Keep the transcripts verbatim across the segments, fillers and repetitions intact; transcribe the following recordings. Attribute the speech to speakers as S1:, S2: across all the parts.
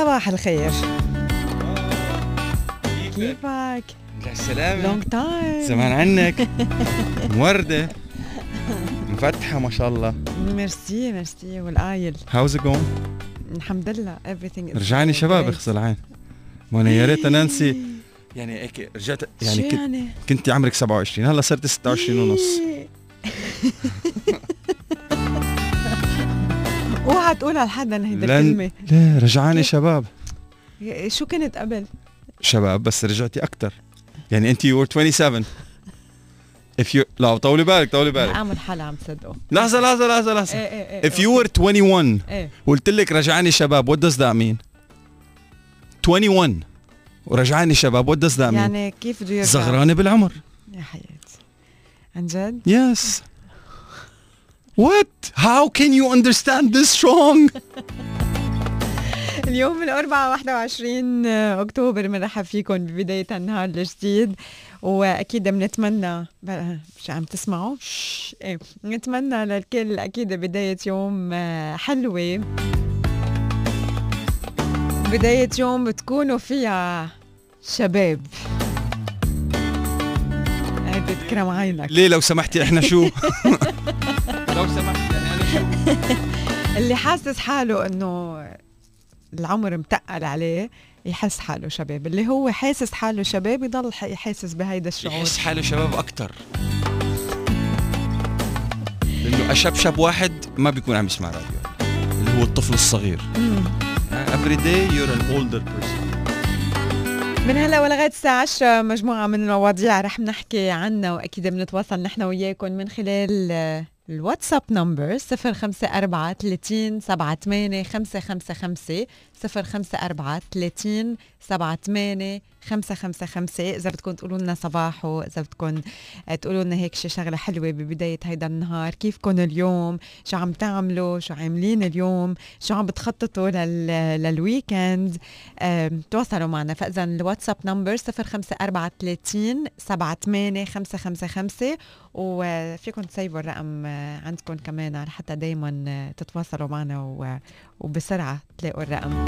S1: صباح الخير. كيفك؟
S2: السلامة.
S1: لونج تايم.
S2: زمان عنك. موردة مفتحة ما شاء الله.
S1: ميرسي ميرسي والقايل.
S2: How's it going؟
S1: الحمد لله everything is
S2: رجعني شباب
S1: great.
S2: اغسل عين. ما انا يا ريت نانسي يعني هيك رجعت يعني كنت
S1: يعني؟
S2: كنت عمرك سبعة وعشرين هلا صرت ستة وعشرين ونص.
S1: اوعى تقولها لحدا هيدا
S2: لن...
S1: الكلمة.
S2: لا رجعاني شباب.
S1: شو كنت قبل؟
S2: شباب بس رجعتي أكتر. يعني أنت you were twenty-seven. If you لا طولي بالك طولي بالك.
S1: عامل حالة عم تصدقه.
S2: لحظة لحظة لحظة لحظة.
S1: ايه ايه ايه
S2: If you were twenty-one
S1: ايه
S2: قلت لك رجعاني شباب what does that mean؟ twenty-one ورجعاني شباب what does that mean؟
S1: يعني كيف بده يرجع؟
S2: صغرانة بالعمر.
S1: يا حياتي عن جد؟
S2: Yes. What? How can you understand this wrong؟
S1: اليوم الأربعاء واحد وعشرين أكتوبر بنرحب فيكم ببداية النهار الجديد، وأكيد بنتمنى مش عم تسمعوا؟ شش. إيه. نتمنى للكل أكيد بداية يوم حلوة، بداية يوم بتكونوا فيها شباب. هيدي تكرم عينك.
S2: ليه لو سمحتي احنا شو؟ لو سمحتي يعني انا شو؟
S1: اللي حاسس حاله انه العمر متقل عليه يحس حاله شباب، اللي هو حاسس حاله شباب يضل يحاسس بهيدا الشعور،
S2: يحس حاله شباب اكتر. لانه اشبشب واحد ما بيكون عم يسمع راديو، اللي هو الطفل الصغير. Every day you're an older person.
S1: من هلا ولغايه الساعة عشرة مجموعة من المواضيع رح نحكي عنها، واكيد بنتواصل نحن وياكم من خلال الواتساب نمبر صفر خمسة أربعة ثلاثين سبعة ثمانية خمسة خمسة خمسة صفر خمسة أربعة ثلاثين سبعة ثمانية خمسة خمسة خمسة. إذا بدكم تقولوا لنا صباحو، إذا بدكم تقولوا لنا هيك شي شغلة حلوة ببداية هيدا النهار، كيفكم اليوم، شو عم تعملوا، شو عاملين اليوم، شو عم بتخططوا لل... للويكند، تواصلوا معنا. فإذا الواتساب نمبر صفر خمسة أربعة ثلاثين سبعة ثمانية خمسة خمسة خمسة، وفيكم تسيبوا الرقم عندكم كمان حتى دايما تتواصلوا معنا وبسرعة تلاقوا الرقم.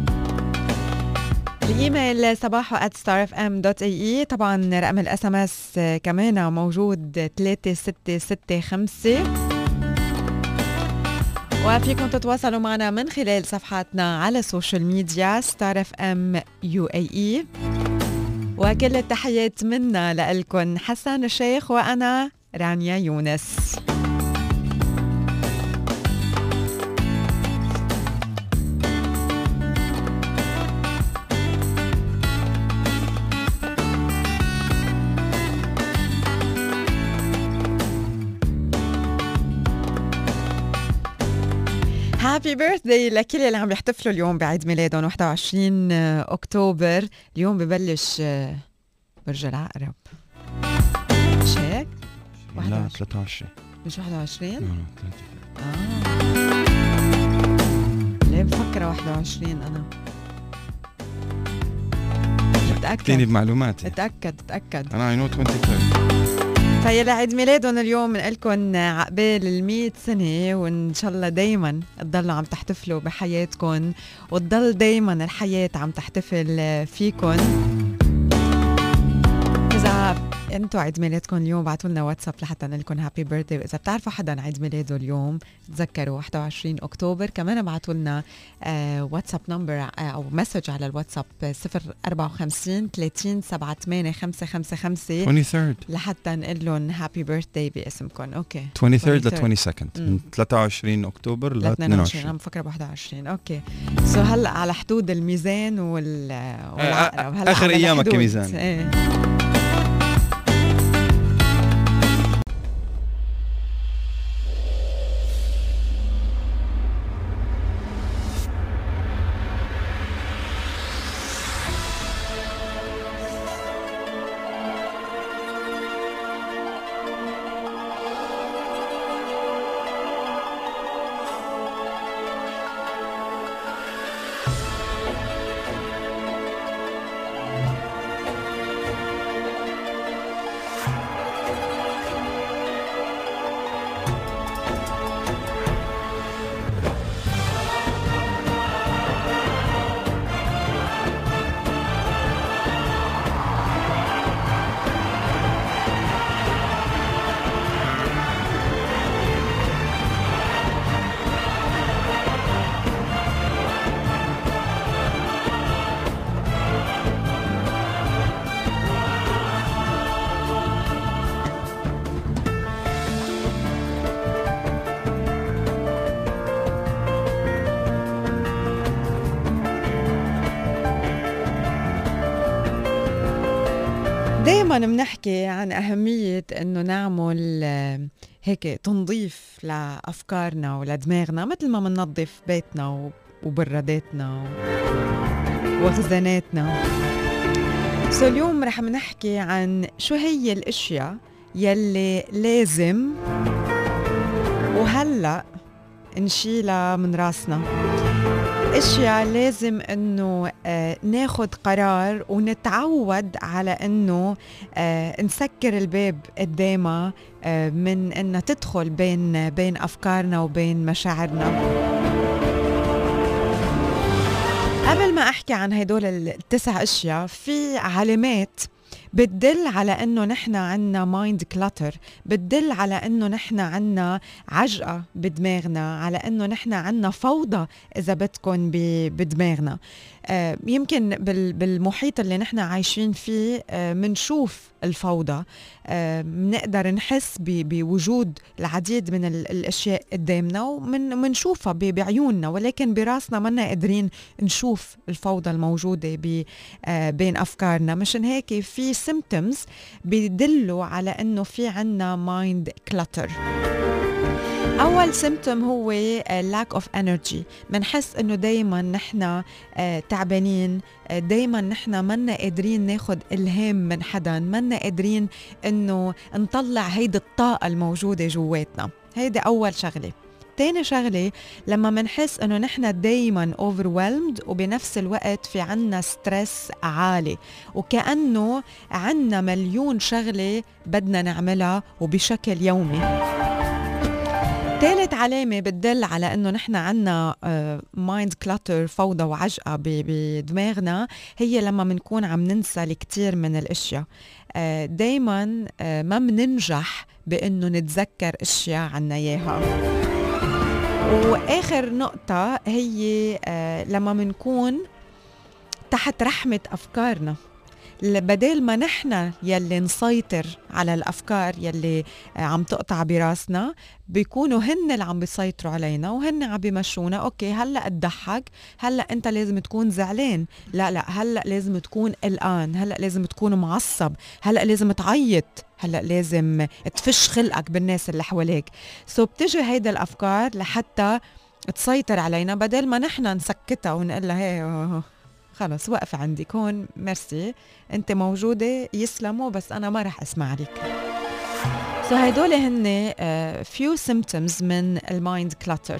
S1: الإيميل صباحو at star f m dot a e. طبعا رقم الاس ام اس كمان موجود ثلاثة ستة ستة خمسة، وفيكم تتواصلوا معنا من خلال صفحاتنا على السوشيال ميديا ستار اف ام يو اي اي. وكل التحيات منا لألكن حسن الشيخ وأنا رانيا يونس. هابي بيرثداي لكل اللي عم يحتفلوا اليوم بعيد ميلادهم واحد وعشرين أكتوبر. اليوم ببلش برج العقرب، مش هيك؟
S2: لا ثلاثة وعشرين.
S1: مش واحد وعشرين؟
S2: اه
S1: آه. ليه بفكر واحد وعشرين أنا؟ اتأكد
S2: تاني بمعلوماتي.
S1: اتأكد اتأكد
S2: أنا I know twenty-third.
S1: فيلي عيد ميلادهم اليوم بنقلكن عقبال المية سنة، وإن شاء الله دايما تضلوا عم تحتفلوا بحياتكن، وتضل دايما الحياة عم تحتفل فيكن. إذا انتوا عيد ميلادكم اليوم بعتوا لنا واتساب لحتى نقلكن هابي بيرثداي، وإذا بتعرفوا حدا عيد ميلاده اليوم تذكروا واحد وعشرين أكتوبر. كمان بعتوا لنا آه واتساب نمبر آه أو مسج على الواتساب صفر أربعة خمسين ثلاثين سبعة ثمانية خمسة خمسة خمسة
S2: twenty-third
S1: لحتى نقول لهم هابي بيرثداي باسمكم. اوكي
S2: twenty-third ل twenty-second من ثلاثة وعشرين أكتوبر ل اثنين وعشرين.
S1: انا مفكره واحد وعشرين. اوكي سو هلا على حدود الميزان وال والعقرب. هلا
S2: اخر ايامك كميزان.
S1: ايه. دايما بنحكي عن أهمية إنه نعمل هيك تنظيف لأفكارنا ولدماغنا مثل ما بننظف بيتنا وبراداتنا وخزاناتنا. سو اليوم رح نحكي عن شو هي الأشياء يلي لازم وهلأ نشيلها من راسنا، اشياء لازم انه آه ناخد قرار ونتعود على انه آه نسكر الباب قدامها آه من انها تدخل بين بين افكارنا وبين مشاعرنا. قبل ما احكي عن هدول التسع اشياء، في علامات بتدل على انه نحن عنا مايند كلاتر، بتدل على انه نحن عنا عجقة بدماغنا، على انه نحن عنا فوضى اذا بدكن بدماغنا. آه يمكن بالمحيط اللي نحن عايشين فيه آه منشوف الفوضى، آه منقدر نحس بوجود العديد من الاشياء قدامنا ومنشوفها بعيوننا، ولكن براسنا منا قادرين نشوف الفوضى الموجودة آه بين افكارنا. مشان هيك في symptoms بيدلوا على انه في عنا mind clutter. اول symptom هو lack of energy، منحس انه دايما نحن تعبانين، دايما نحن منا قادرين ناخد الهام من حدا، منا قادرين انه نطلع هيدي الطاقة الموجودة جواتنا. هيدي اول شغلة. تاني شغلة، لما منحس انه نحن دايما overwhelmed وبنفس الوقت في عنا ستريس عالي، وكأنه عنا مليون شغلة بدنا نعملها وبشكل يومي. ثالث علامة بتدل على انه نحن عنا مايند كلاتر، فوضى وعجقة بدماغنا، هي لما منكون عم ننسى الكثير من الاشياء. دايما ما مننجح بانه نتذكر اشياء عنا اياها. وآخر نقطة هي آه لما منكون تحت رحمة أفكارنا، بدل ما نحن يلي نسيطر على الأفكار يلي آه عم تقطع براسنا، بيكونوا هن اللي عم بيسيطروا علينا وهن عم بيمشونا. أوكي هلأ تضحك، هلأ أنت لازم تكون زعلان، لا لا هلأ لازم تكون قلقان، هلأ لازم تكون معصب، هلأ لازم تعيط، هلأ لازم تفش خلقك بالناس اللي حواليك. سو بتجي هيدا الأفكار لحتى تسيطر علينا، بدل ما نحن نسكتها ونقول لها هي خلص وقف عندك هون، ميرسي انت موجودة يسلموا بس أنا ما رح أسمع لك. سو هيدول هن uh, few symptoms من المايند كلاتر.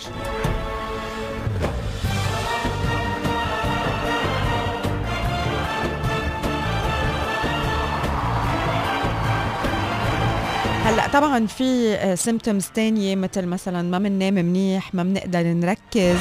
S1: هلأ طبعاً في symptoms تانية مثل مثلاً ما مننام منيح، ما منقدر نركز،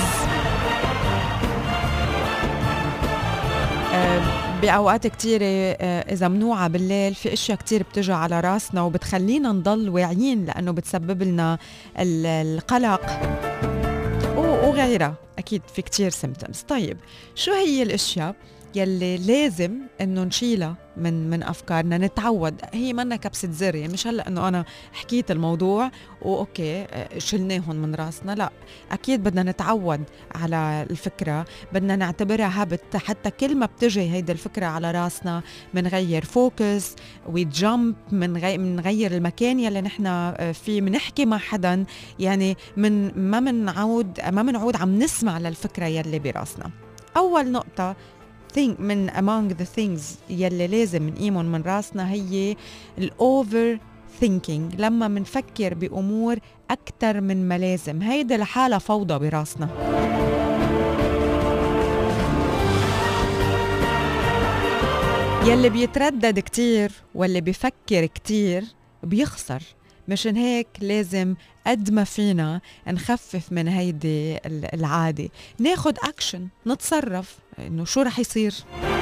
S1: بأوقات كتيرة إذا منوعة بالليل في أشياء كتير بتجي على راسنا وبتخلينا نضل واعيين لأنه بتسبب لنا القلق وغيرها. أكيد في كتير symptoms. طيب شو هي الأشياء يلي لازم انه نشيلها من من افكارنا؟ نتعود، هي منا كبسة زر، يعني مش هلا انه انا حكيت الموضوع واوكي شلناهم من راسنا، لا اكيد بدنا نتعود على الفكرة، بدنا نعتبرها هابت، حتى كل ما بتجي هيدا الفكرة على راسنا منغير فوكس ويجمب، منغير منغير المكان يلي نحن فيه، منحكي مع حدا، يعني من ما منعود ما منعود عم نسمع للفكرة يلي براسنا. اول نقطة think من among the things يلي لازم نقيمهم من راسنا هي الأوفر thinking، لما منفكر بأمور أكتر من ما لازم. هيدا لحالة فوضى براسنا. يلي بيتردد كتير واللي بيفكر كتير بيخسر. مشان هيك لازم قد ما فينا نخفف من هيدي العادة، ناخد أكشن، نتصرف إنه شو رح يصير.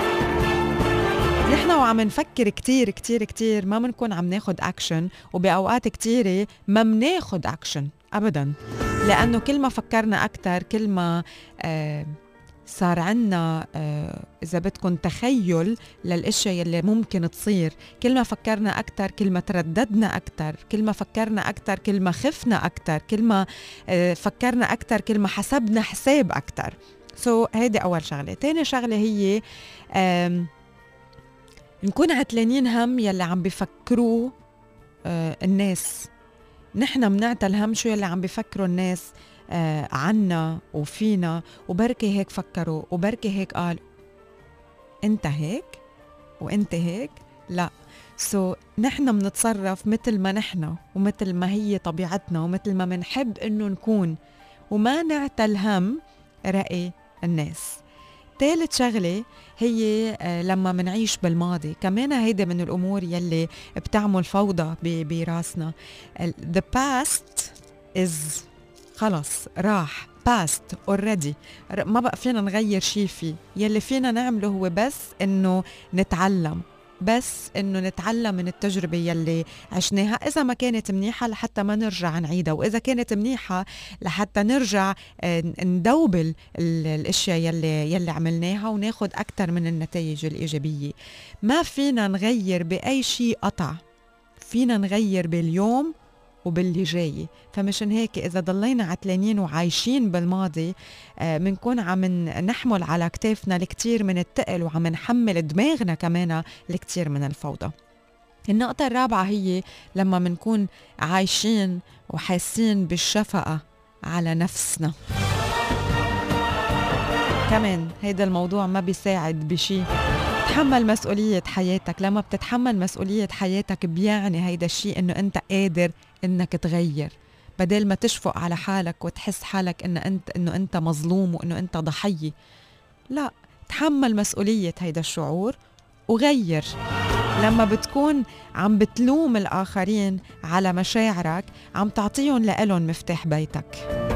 S1: نحن وعم نفكر كتير كتير كتير ما منكون عم ناخد أكشن، وبأوقات كتيرة ما مناخد أكشن أبداً، لأنه كل ما فكرنا أكتر كل ما آه صار عنا آه إذا بدكن تخيل للأشياء يلي ممكن تصير. كل ما فكرنا أكتر كل ما ترددنا أكتر، كل ما فكرنا أكتر كل ما خفنا أكتر، كل ما آه فكرنا أكتر كل ما حسبنا حساب أكتر. سو so, هيدي أول شغلة. تاني شغلة هي نكون عتلانين هم يلي عم بيفكروا آه الناس. نحن منعتل الهم شو يلي عم بيفكروا الناس آه عنا وفينا، وبركي هيك فكروا وبركي هيك قالوا. انت هيك وانت هيك لا. سو so, نحن منتصرف مثل ما نحن ومثل ما هي طبيعتنا ومثل ما منحب انه نكون، وما نعتل هم رأي الناس. ثالث شغلة هي لما منعيش بالماضي، كمان هيدا من الأمور يلي بتعمل فوضى براسنا. the past is خلص راح، past already، ما بقى فينا نغير شي فيه. يلي فينا نعمله هو بس إنه نتعلم، بس إنه نتعلم من التجربة يلي عشناها، إذا ما كانت منيحة لحتى ما نرجع نعيدها، وإذا كانت منيحة لحتى نرجع ندوبل الأشياء يلي, يلي عملناها وناخد أكتر من النتائج الإيجابية. ما فينا نغير بأي شيء قطع، فينا نغير باليوم وباللي جاي. فمشان هيك إذا ضلينا عتلانين وعايشين بالماضي منكون عم نحمل على كتافنا الكتير من التقل، وعم نحمل دماغنا كمان الكتير من الفوضى. النقطة الرابعة هي لما منكون عايشين وحاسين بالشفقة على نفسنا. كمان هيدا الموضوع ما بيساعد بشي. تحمل مسؤولية حياتك. لما بتتحمل مسؤولية حياتك بيعني هيدا الشيء انه انت قادر انك تغير، بدل ما تشفق على حالك وتحس حالك انه انت انه انت مظلوم وانه انت ضحية. لا، تحمل مسؤولية هيدا الشعور وغير. لما بتكون عم بتلوم الآخرين على مشاعرك، عم تعطيهم لإلهم مفتاح بيتك.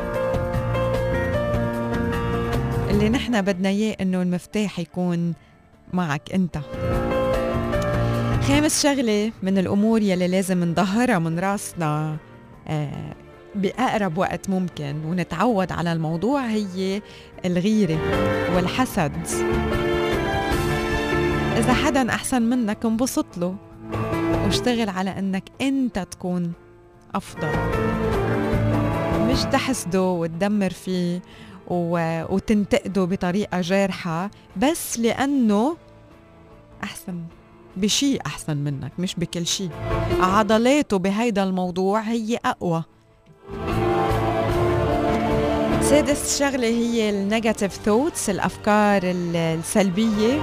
S1: اللي نحن بدنا اياه انه المفتاح يكون معك انت. خامس شغلة من الأمور يلي لازم نظهرها من راسنا آه بأقرب وقت ممكن ونتعود على الموضوع هي الغيرة والحسد. إذا حدا أحسن منك انبسط له واشتغل على أنك أنت تكون أفضل، مش تحسده وتدمر فيه وتنتقده بطريقة جارحة بس لأنه أحسن بشي أحسن منك، مش بكل شي. عضلاته بهيدا الموضوع هي أقوى. سادس شغلة هي النيجاتيف ثوتس، الأفكار السلبية.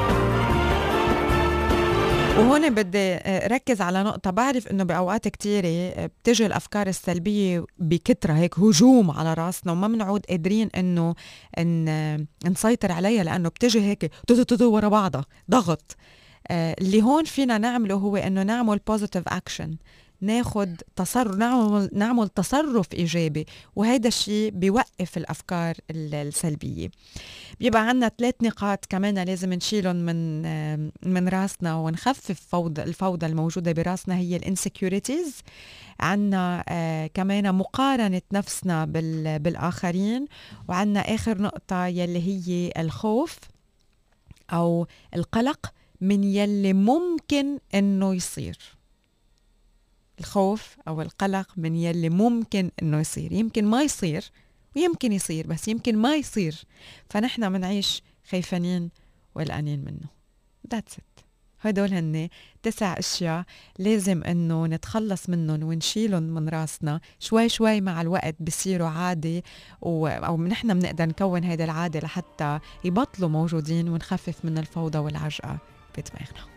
S1: وهون بدي ركز على نقطة. بعرف إنه بأوقات كتيرة بتجي الأفكار السلبية بكترة هيك هجوم على راسنا، وما منعود قادرين إنه إن نسيطر عليها، لأنه بتجي هيك تتتتو ورا بعضها ضغط. اللي هون فينا نعمله هو إنه نعمل positive action، ناخد تصرف، نعمل, نعمل تصرف إيجابي، وهيدا الشيء بيوقف الأفكار السلبية. بيبقى عنا ثلاث نقاط كمان لازم نشيلهم من من راسنا ونخفف فوضى الفوضى الموجودة براسنا. هي الانسكيورتيز، عنا آه كمان مقارنة نفسنا بالآخرين، وعنا آخر نقطة يلي هي الخوف أو القلق من يلي ممكن إنه يصير. الخوف أو القلق من يلي ممكن إنه يصير. يمكن ما يصير ويمكن يصير، بس يمكن ما يصير، فنحن منعيش خايفانين وقلقانين منه. That's it. هدول هن تسع أشياء لازم إنه نتخلص منهم ونشيلهم من راسنا. شوي شوي مع الوقت بصيروا عادي، و... أو نحن بنقدر نكون هيدا العادة لحتى يبطلوا موجودين ونخفف من الفوضى والعجقة بدماغنا.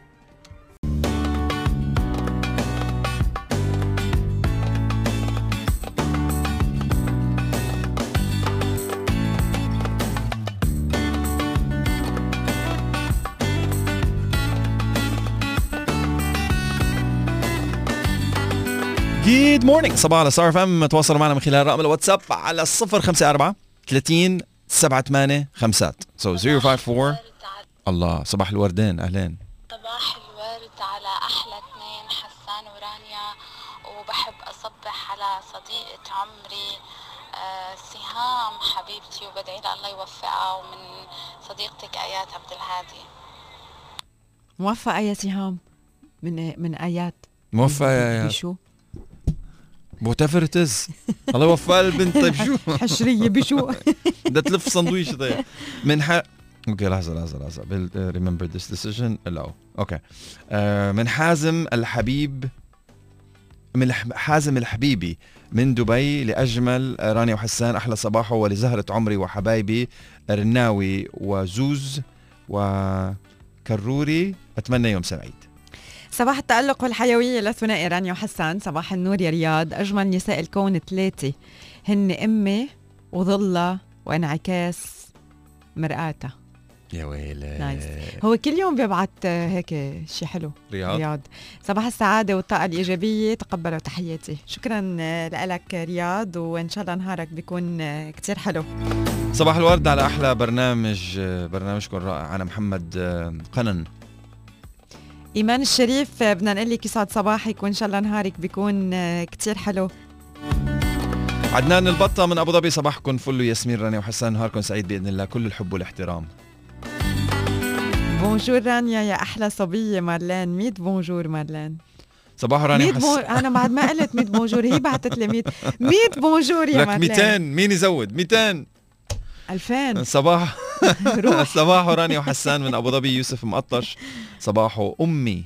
S2: Good morning. صباح على ستار إف إم. تواصلوا معنا من خلال رقم الواتساب على صفر خمسة أربعة ثلاثين سبعة ثمانية خمسات. So zero five four. الله، صباح الوردين. أهلين.
S3: صباح الورد على أحلى اثنين، حسان ورانيا. وبحب أصبح على صديقة عمري آه سهام حبيبتي، وبدعي لها الله يوفقها، ومن صديقتك آيات عبد الهادي.
S1: موفقة يا سهام. من من آيات.
S2: موفقة يا آيات.
S1: بشو؟
S2: whatever it is. الله يوفق البنت. طيب شو
S1: حشرية بشو؟
S2: بدها تلف صندويش. طيب من ح... اوكي لحظة لحظة لحظة remember this decision allow اوكي آه من حازم الحبيب من حازم الحبيبي من دبي لأجمل رانيا وحسان أحلى صباحه، ولزهرة عمري وحبايبي رناوي وزوز وكروري، أتمنى يوم سعيد.
S1: صباح التألق والحيوية لثنائي رانيا وحسان. صباح النور يا رياض. أجمل نساء الكون ثلاثة هن أمي وظلة وانعكاس مرآتها.
S2: يا ويلي
S1: نايس. هو كل يوم بيبعت هيك شيء حلو.
S2: رياض.
S1: رياض صباح السعادة والطاقة الإيجابية، تقبلوا تحياتي. شكرا لك رياض، وإن شاء الله نهارك بيكون كتير حلو.
S2: صباح الورد على أحلى برنامج، برنامجكم رائع. أنا محمد قنن.
S1: إيمان الشريف بدنا نقول لك يسعد صباحك وإن شاء الله نهارك بيكون كتير حلو.
S2: عدنان البطة من أبو ظبي، صباحكم فل ياسمين رانيا وحسان، نهاركم سعيد بإذن الله، كل الحب والاحترام.
S1: بونجور رانيا يا أحلى صبية مارلين. ميت بونجور مارلين.
S2: صباح رانيا
S1: وحسان. بون... أنا بعد ما قلت ميت بونجور هي بعتت لي ميت ميت بونجور يا مارلين.
S2: لك ميتين، مين يزود ميتين؟
S1: ألفين.
S2: صباح صباح رانيا وحسان من أبو ظبي. يوسف مقطش صباحه أمي.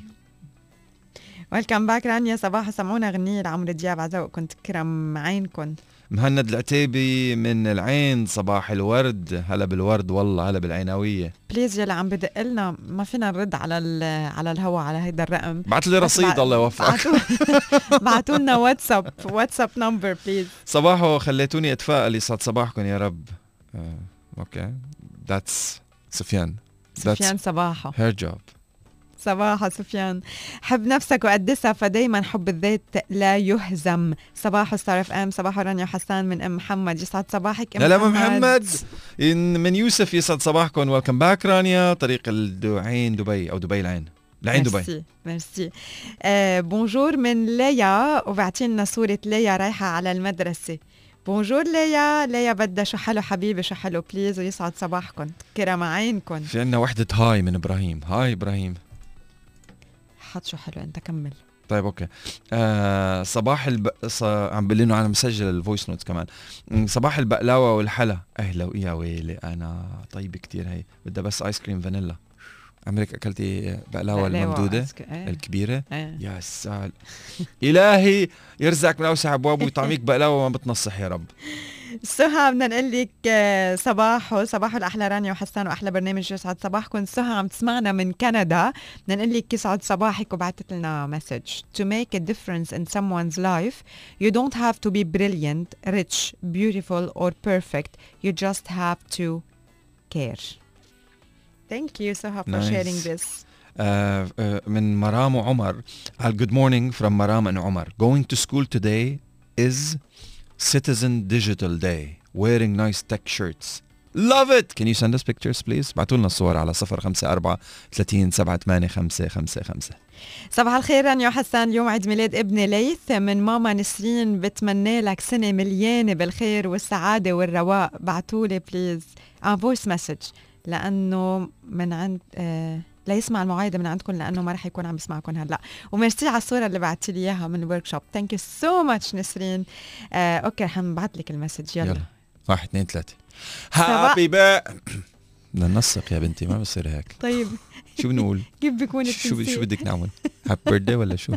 S1: ويلكم باك رانيا. صباح سمعونا غنية لعمرو دياب عزوقكم تكرم عينكم.
S2: مهند العتيبي من العين، صباح الورد. هلا بالورد والله، هلا بالعيناوية.
S1: بليز يلا عم بدق لنا، ما فينا نرد على على الهوا على هيدا الرقم.
S2: بعت لي رصيد الله يوفقك.
S1: بعتوا لنا واتساب واتساب نمبر بليز.
S2: صباحو خليتوني اتفائل، يسعد صباحكم يا رب. آه، اوكي ذاتس سفيان.
S1: سفيان صباحو
S2: هير جوب.
S1: صباح سفيان. حب نفسك وقدسها، فدايما حب الذات لا يهزم. صباح ستار اف ام. صباح رانيا وحسان من ام محمد. يسعد صباحك ام
S2: لا
S1: محمد.
S2: لا محمد من يوسف. يسعد صباحكم. ويلكم باك رانيا. طريق العين دبي او دبي العين العين دبي.
S1: ميرسي ميرسي. آه بونجور من ليا، وبعتينا صورة ليا رايحة على المدرسة. بونجور ليا. ليا بدها شو حلو حبيبي شو حلو بليز، ويسعد صباحكم كرم عينكم.
S2: في عنا وحدة هاي من ابراهيم. هاي ابراهيم.
S1: حط شو حلو انت كمل.
S2: طيب اوكي. آه صباح الب... ص... عم بقول انه انا مسجل الفويس نوتس كمان. صباح البقلاوه والحلا. اهلا يا ويلي انا طيب كتير. هي بدها بس ايس كريم فانيلا. عمرك اكلتي بقلاوه الممدوده
S1: ايه.
S2: الكبيره؟
S1: ايه.
S2: يا سال. الهي يرزقك من اوسع ابوابه ويطعميك بقلاوه ما بتنصح يا رب.
S1: سهى بدنا نقول لك صباحو صباحو الاحلى رانيا وحسان واحلى برنامج. يسعد صباحكم. سهى عم تسمعنا من كندا. بدنا نقول لك يسعد صباحك، وبعثت لنا مسج. To make a difference in someone's life you don't have to be brilliant, rich, beautiful or perfect. You just have to care. Thank you Suha for
S2: nice.
S1: sharing this.
S2: Uh, uh, من مرام وعمر. على good morning from مرام and عمر. Going to school today is Citizen Digital Day. Wearing nice tech shirts. Love it. Can you send us pictures please? بعتوا لنا الصور على صفر خمسة أربعة ثلاثين سبعة ثمانية خمسة خمسة خمسة.
S1: صباح الخير رانيا وحسان. اليوم عيد ميلاد ابني ليث. من ماما نسرين بتمنى لك سنة مليانة بالخير والسعادة والرواق. بعتولي بليز ان فويس مسج لأنه من عند آه لا يسمع المواعيد من عندكم، لأنه ما رح يكون عم يسمعكم هلا. وميرسي على الصورة اللي بعتي لي إياها من الورك شوب. ثانك يو سو ماتش نسرين. آه أوكي رح نبعت لك المسج. يلا, يلا.
S2: واحد اثنين ثلاثة. هابي بقى. بدنا ننسق يا بنتي، ما بصير هيك.
S1: طيب
S2: شو بنقول؟
S1: كيف بيكون
S2: التنسيق؟ شو شو بدك نعمل؟ هابي بيرثدي ولا شو؟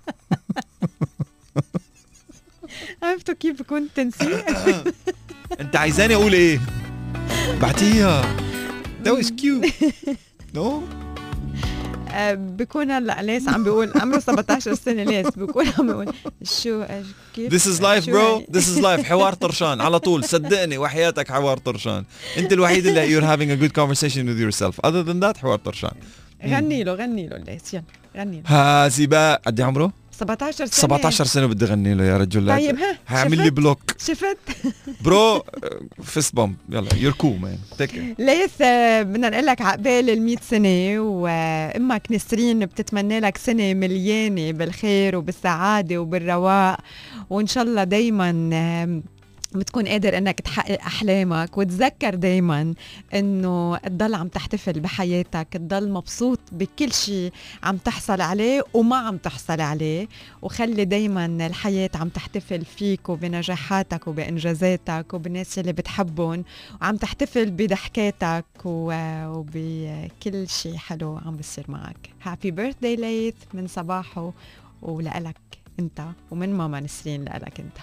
S1: عرفتوا كيف بيكون التنسيق؟
S2: أنت عايزاني أقول إيه؟ بعتيها. That was cute. No?
S1: آه بيكون هلا ليس عم بيقول عمره سبعة عشر سنة. ليس بيكون عم بيقول شو كيف.
S2: This is life bro. This is life. حوار طرشان على طول. صدقني وحياتك حوار طرشان. أنت الوحيد اللي you're having a good conversation with yourself. Other than that حوار طرشان.
S1: غني له غني له ليس. يلا غني له.
S2: هازباء. قد ايه عمره؟
S1: سبعة عشر سنة.
S2: سبعة عشر سنة بدي غني له يا رجل.
S1: طيب ها
S2: هعمل لي بلوك.
S1: شفت
S2: برو فيست بومب. يلا يور كول مان. تك
S1: ليث بدنا نقول لك عقبال المية سنة، وامك نسرين بتتمنى لك سنة مليانة بالخير وبالسعادة وبالرواق، وان شاء الله دايما بتكون قادر انك تحقق احلامك. وتذكر دايما انه تضل عم تحتفل بحياتك، تضل مبسوط بكل شيء عم تحصل عليه وما عم تحصل عليه، وخلي دايما الحياة عم تحتفل فيك وبنجاحاتك وبانجازاتك وبالناس اللي بتحبهم، وعم تحتفل بضحكاتك وبكل شيء حلو عم بيصير معك. هابي بيرثداي ليث من صباحه ولك انت، ومن ماما نسرين لك انت.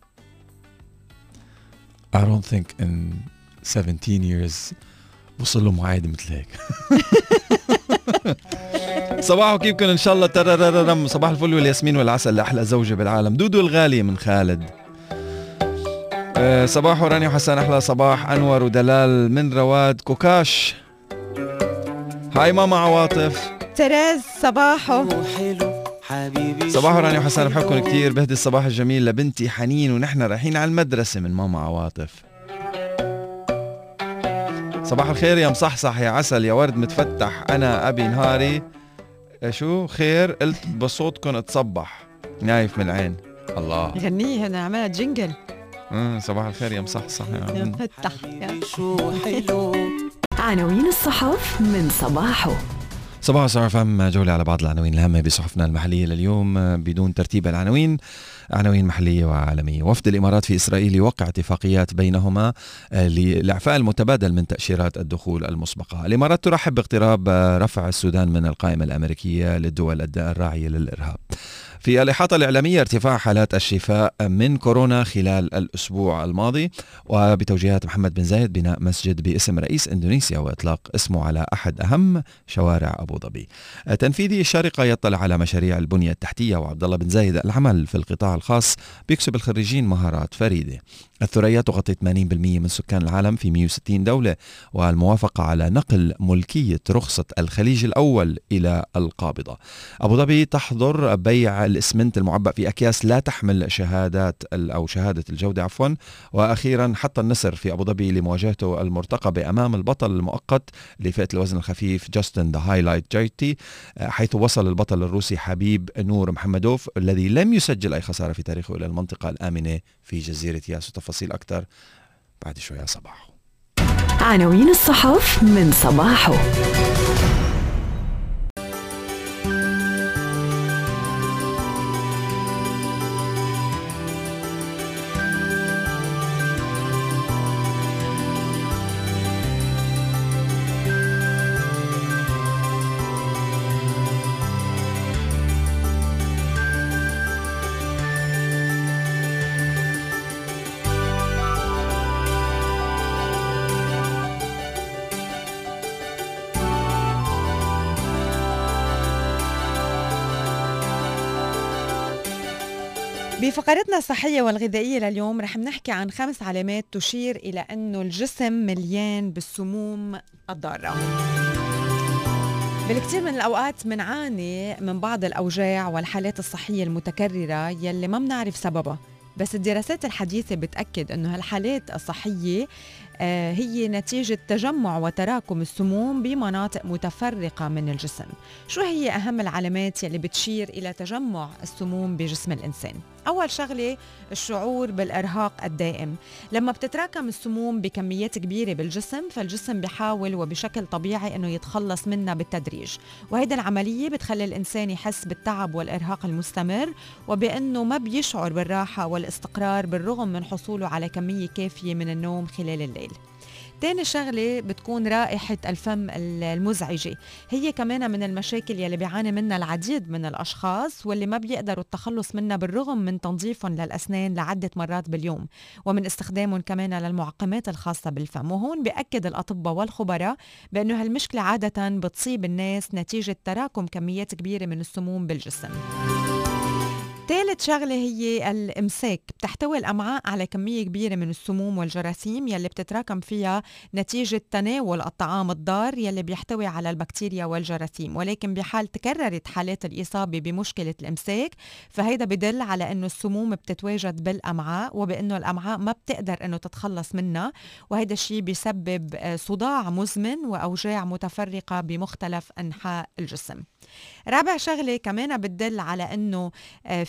S2: I don't think in seventeen years وصل له معايد مثل هيك. صباحو كيفكن ان شاء الله تررررم. صباح الفل والياسمين والعسل لاحلى زوجة بالعالم دودو الغالية من خالد. أه صباحو رانيا وحسان احلى صباح. انور ودلال من رواد كوكاش. هاي ماما عواطف.
S1: تريز صباحو.
S2: صباحو رانيا وحسان بحبكم كتير. بهدي الصباح الجميل لبنتي حنين ونحن رايحين على المدرسة من ماما عواطف. صباح الخير يا مصحصح يا عسل يا ورد متفتح. أنا أبي نهاري شو خير قلت بصوتكم اتصبح نايف من العين. الله
S1: غنيه هنا عملها جينجل.
S2: امم صباح الخير يا مصحصح يا
S1: مفتح.
S4: عناوين الصحف من صباحه.
S2: صباح صار فهم جولة على بعض العناوين الهامة بصحفنا المحلية لليوم بدون ترتيب العناوين. عناوين محلية وعالمية. وفد الإمارات في إسرائيل يوقع اتفاقيات بينهما للإعفاء المتبادل من تأشيرات الدخول المسبقة. الإمارات ترحب باقتراب رفع السودان من القائمة الأمريكية للدول الراعية للإرهاب. في الإحاطة الإعلامية ارتفاع حالات الشفاء من كورونا خلال الأسبوع الماضي. وبتوجيهات محمد بن زايد بناء مسجد باسم رئيس إندونيسيا وإطلاق اسمه على أحد أهم شوارع أبو ظبي. تنفيذي الشارقة يطلع على مشاريع البنية التحتية. وعبد الله بن زايد العمل في القطاع الخاص بيكسب الخريجين مهارات فريدة. الثريا تغطي ثمانين بالمئة من سكان العالم في مئة وستين دولة. والموافقة على نقل ملكية رخصة الخليج الأول إلى القابضة. أبو ظبي تحظر بيع الإسمنت المعبأ في أكياس لا تحمل شهادات أو شهادة الجودة عفوا. وأخيرا حط النسر في أبو ظبي لمواجهته المرتقبة أمام البطل المؤقت لفئة الوزن الخفيف جاستن ذا هايلايت جايتي، حيث وصل البطل الروسي حبيب نور محمدوف الذي لم يسجل أي خسارة في تاريخه إلى المنطقة الآمنة في جزيرة ياس. تفاصيل أكثر بعد شوية. صباحو
S4: عناوين الصحف من صباحو.
S1: بفقرتنا الصحية والغذائية لليوم رح نحكي عن خمس علامات تشير إلى أنه الجسم مليان بالسموم الضارة. بالكثير من الأوقات منعاني من بعض الأوجاع والحالات الصحية المتكررة يلي ما بنعرف سببها، بس الدراسات الحديثة بتأكد أنه هالحالات الصحية آه هي نتيجة تجمع وتراكم السموم بمناطق متفرقة من الجسم. شو هي أهم العلامات يلي بتشير إلى تجمع السموم بجسم الإنسان؟ أول شغلة الشعور بالإرهاق الدائم. لما بتتراكم السموم بكميات كبيرة بالجسم فالجسم بيحاول وبشكل طبيعي أنه يتخلص منها بالتدريج، وهيدا العملية بتخلي الإنسان يحس بالتعب والإرهاق المستمر وبأنه ما بيشعر بالراحة والاستقرار بالرغم من حصوله على كمية كافية من النوم خلال الليل. تاني شغلة بتكون رائحة الفم المزعجة، هي كمان من المشاكل يلي بيعاني منها العديد من الأشخاص واللي ما بيقدروا التخلص منها بالرغم من تنظيفهم للأسنان لعدة مرات باليوم ومن استخدامهم كمان للمعقمات الخاصة بالفم. وهون بيأكد الأطباء والخبراء بأنه هالمشكلة عادة بتصيب الناس نتيجة تراكم كميات كبيرة من السموم بالجسم. ثالث شغلة هي الإمساك. بتحتوي الأمعاء على كمية كبيرة من السموم والجراثيم يلي بتتراكم فيها نتيجة تناول الطعام الضار يلي بيحتوي على البكتيريا والجراثيم، ولكن بحال تكررت حالات الإصابة بمشكلة الإمساك فهيدا بدل على أنه السموم بتتواجد بالأمعاء وبأنه الأمعاء ما بتقدر أنه تتخلص منها، وهيدا الشيء بيسبب صداع مزمن وأوجاع متفرقة بمختلف أنحاء الجسم. رابع شغلة كمان بتدل على أنه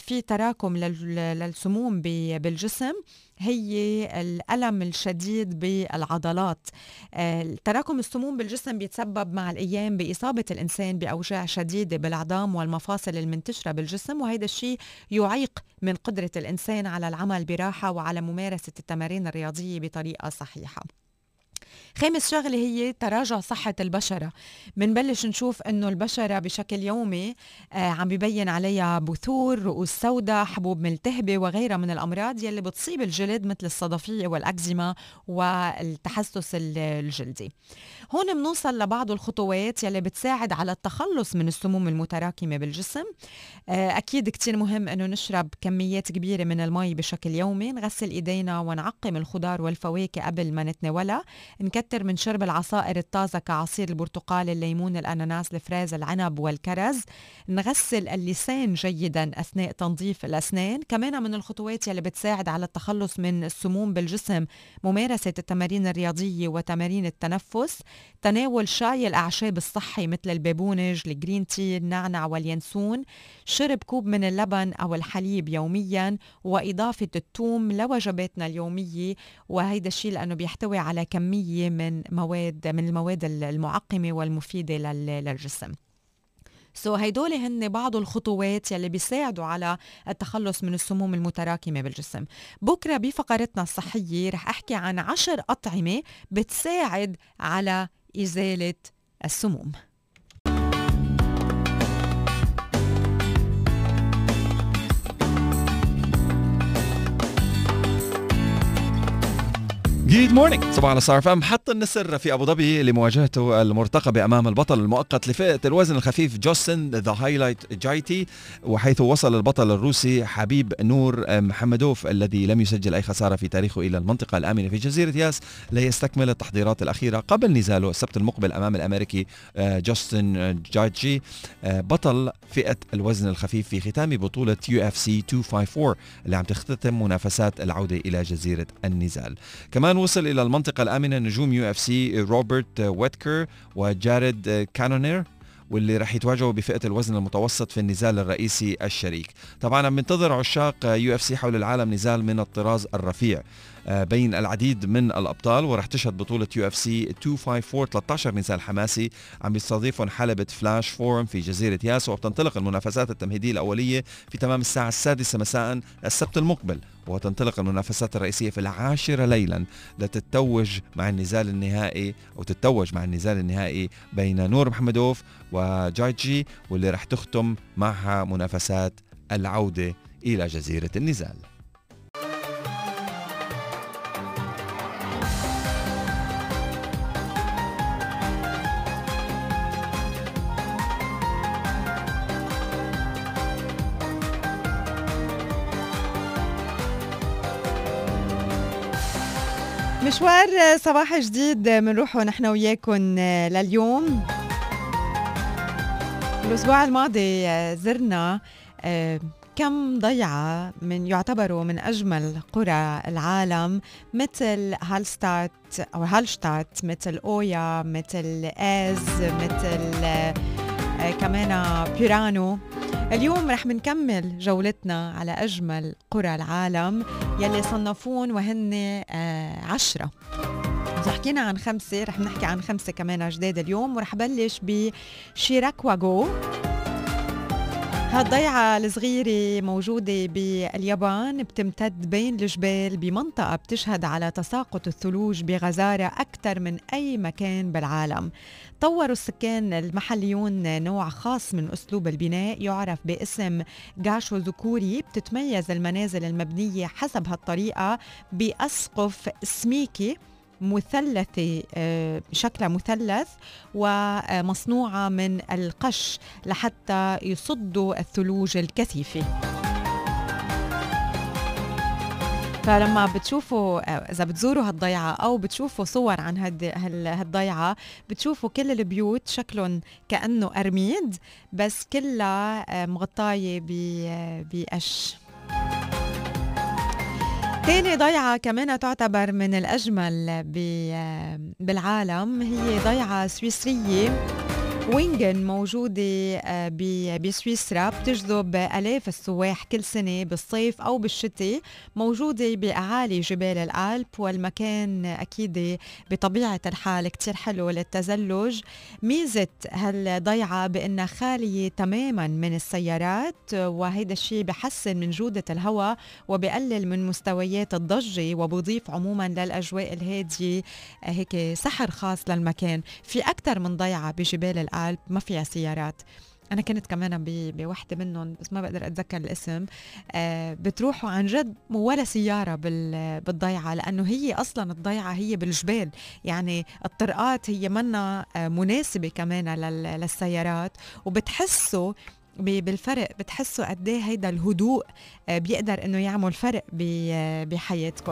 S1: في تراكم للسموم بالجسم هي الألم الشديد بالعضلات. تراكم السموم بالجسم بيتسبب مع الأيام بإصابة الإنسان بأوجاع شديدة بالعظام والمفاصل المنتشرة بالجسم، وهذا الشيء يعيق من قدرة الإنسان على العمل براحة وعلى ممارسة التمارين الرياضية بطريقة صحيحة. خامس شغلة هي تراجع صحة البشرة. منبلش نشوف انه البشرة بشكل يومي آه عم بيبين عليها بثور، رؤوس سوداء، حبوب ملتهبة وغيرها من الأمراض يلي بتصيب الجلد مثل الصدفية والأكزيما والتحسس الجلدي. هون بنوصل لبعض الخطوات يلي بتساعد على التخلص من السموم المتراكمة بالجسم. آه أكيد كتير مهم انه نشرب كميات كبيرة من المي بشكل يومي، نغسل ايدينا ونعقم الخضار والفواكه قبل ما نتناولها، نكتر من شرب العصائر الطازة كعصير البرتقال، الليمون، الأناناس، الفراز، العنب والكرز، نغسل اللسان جيدا أثناء تنظيف الأسنان. كمان من الخطوات يلي بتساعد على التخلص من السموم بالجسم ممارسة التمارين الرياضية وتمارين التنفس، تناول شاي الأعشاب الصحي مثل البابونج، الجرين تي، النعنع واليانسون، شرب كوب من اللبن أو الحليب يوميا، وإضافة الثوم لوجباتنا اليومية، وهيدا الشيء لأنه بيحتوي على كمية من مواد من المواد المعقمة والمفيدة للجسم. سو so هيدول هن بعض الخطوات يلي بيساعدوا على التخلص من السموم المتراكمة بالجسم. بكرة بفقرتنا الصحية رح أحكي عن عشر أطعمة بتساعد على إزالة السموم.
S2: جود مورنينج، صباح على ستار اف ام. حط النسر في ابو ظبي لمواجهته المرتقبه امام البطل المؤقت لفئه الوزن الخفيف جوستن ذا هايلايت جايتي، وحيث وصل البطل الروسي حبيب نور محمدوف الذي لم يسجل اي خساره في تاريخه الى المنطقه الامنه في جزيره ياس ليستكمل التحضيرات الاخيره قبل نزاله السبت المقبل امام الامريكي جوستن جايتشي بطل فئه الوزن الخفيف في ختام بطوله يو اف سي مئتين وخمسة وخمسين اللي عم تختتم منافسات العوده الى جزيره النزال. كمان وصل إلى المنطقة الآمنة نجوم يو اف سي روبرت ويتكر وجاريد كانونير، واللي رح يتواجهوا بفئة الوزن المتوسط في النزال الرئيسي الشريك. طبعا عم ينتظر عشاق يو اف سي حول العالم نزال من الطراز الرفيع بين العديد من الأبطال، ورح تشهد بطولة يو اف سي مئتين وخمسة وخمسين ثلاثة عشر نزال حماسي عم بيستضيفهم حلبة فلاش فورم في جزيرة ياس، وبتنطلق المنافسات التمهيدية الأولية في تمام الساعة السادسة مساء السبت المقبل، وتنطلق المنافسات الرئيسية في العاشرة ليلا لتتوج مع النزال النهائي أو تتوج مع النزال النهائي بين نور محمدوف وجايتشي، واللي رح تختم معها منافسات العودة إلى جزيرة النزال.
S1: مشوار صباح جديد منروحه نحن وياكم لليوم. الأسبوع الماضي زرنا كم ضيعة من يعتبروا من أجمل قرى العالم مثل هالستات أو هالشتات، مثل أويا، مثل آز، مثل كمان بيرانو. اليوم رح منكمل جولتنا على أجمل قرى العالم يلي صنفون وهن عشرة. إذا حكينا عن خمسة رح نحكي عن خمسة كمان جداد اليوم، ورح بلش بشيراكواغو. هالضيعة الصغيرة موجودة باليابان، بتمتد بين الجبال بمنطقة بتشهد على تساقط الثلوج بغزارة أكثر من أي مكان بالعالم. طوروا السكان المحليون نوع خاص من أسلوب البناء يعرف باسم غاشو ذكوري. بتتميز المنازل المبنية حسب هالطريقة بأسقف سميكي مثلثة، شكلها مثلث ومصنوعة من القش لحتى يصدوا الثلوج الكثيفة. فلما بتشوفوا إذا بتزوروا هالضيعة أو بتشوفوا صور عن هالضيعة بتشوفوا كل البيوت شكلهم كأنه أرميد بس كلها مغطاية بقش. تاني ضيعة كمان تعتبر من الأجمل بالعالم هي ضيعة سويسرية، وينغن موجودة آه، ب- بسويسرا، بتجذب آلاف السواح كل سنة بالصيف أو بالشتاء. موجودة بأعالي جبال الألب، والمكان أكيد بطبيعة الحال كتير حلو للتزلج. ميزة هالضيعة بأنها خالية تماما من السيارات، وهيدا الشيء بحسن من جودة الهواء وبقلل من مستويات الضجة، وبضيف عموما للأجواء الهادية آه، هيك سحر خاص للمكان. في أكثر من ضيعة بجبال الألب ما فيها سيارات. أنا كنت كمان ب- بوحدة منهم بس ما بقدر أتذكر الاسم. آه بتروحوا عن جد ولا سيارة بال- بالضيعة، لأنه هي أصلا الضيعة هي بالجبال، يعني الطرقات هي منا آه مناسبة كمان لل- للسيارات. وبتحسوا ب- بالفرق، بتحسوا قد ايه هيدا الهدوء آه بيقدر انه يعمل فرق ب- آه بحياتكم.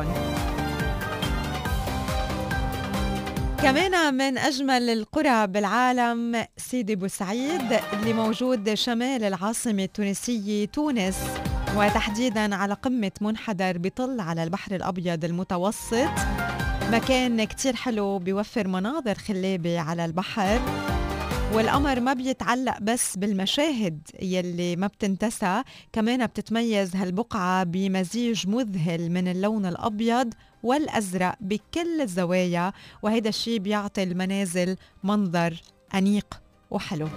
S1: كمان من أجمل القرى بالعالم سيدي بوسعيد، اللي موجود شمال العاصمة التونسية تونس، وتحديدا على قمة منحدر بيطل على البحر الأبيض المتوسط. مكان كتير حلو بيوفر مناظر خلابة على البحر، والقمر ما بيتعلق بس بالمشاهد يلي ما بتنتسى، كمان بتتميز هالبقعة بمزيج مذهل من اللون الأبيض والأزرق بكل الزوايا، وهيدا الشي بيعطي المنازل منظر أنيق وحلو.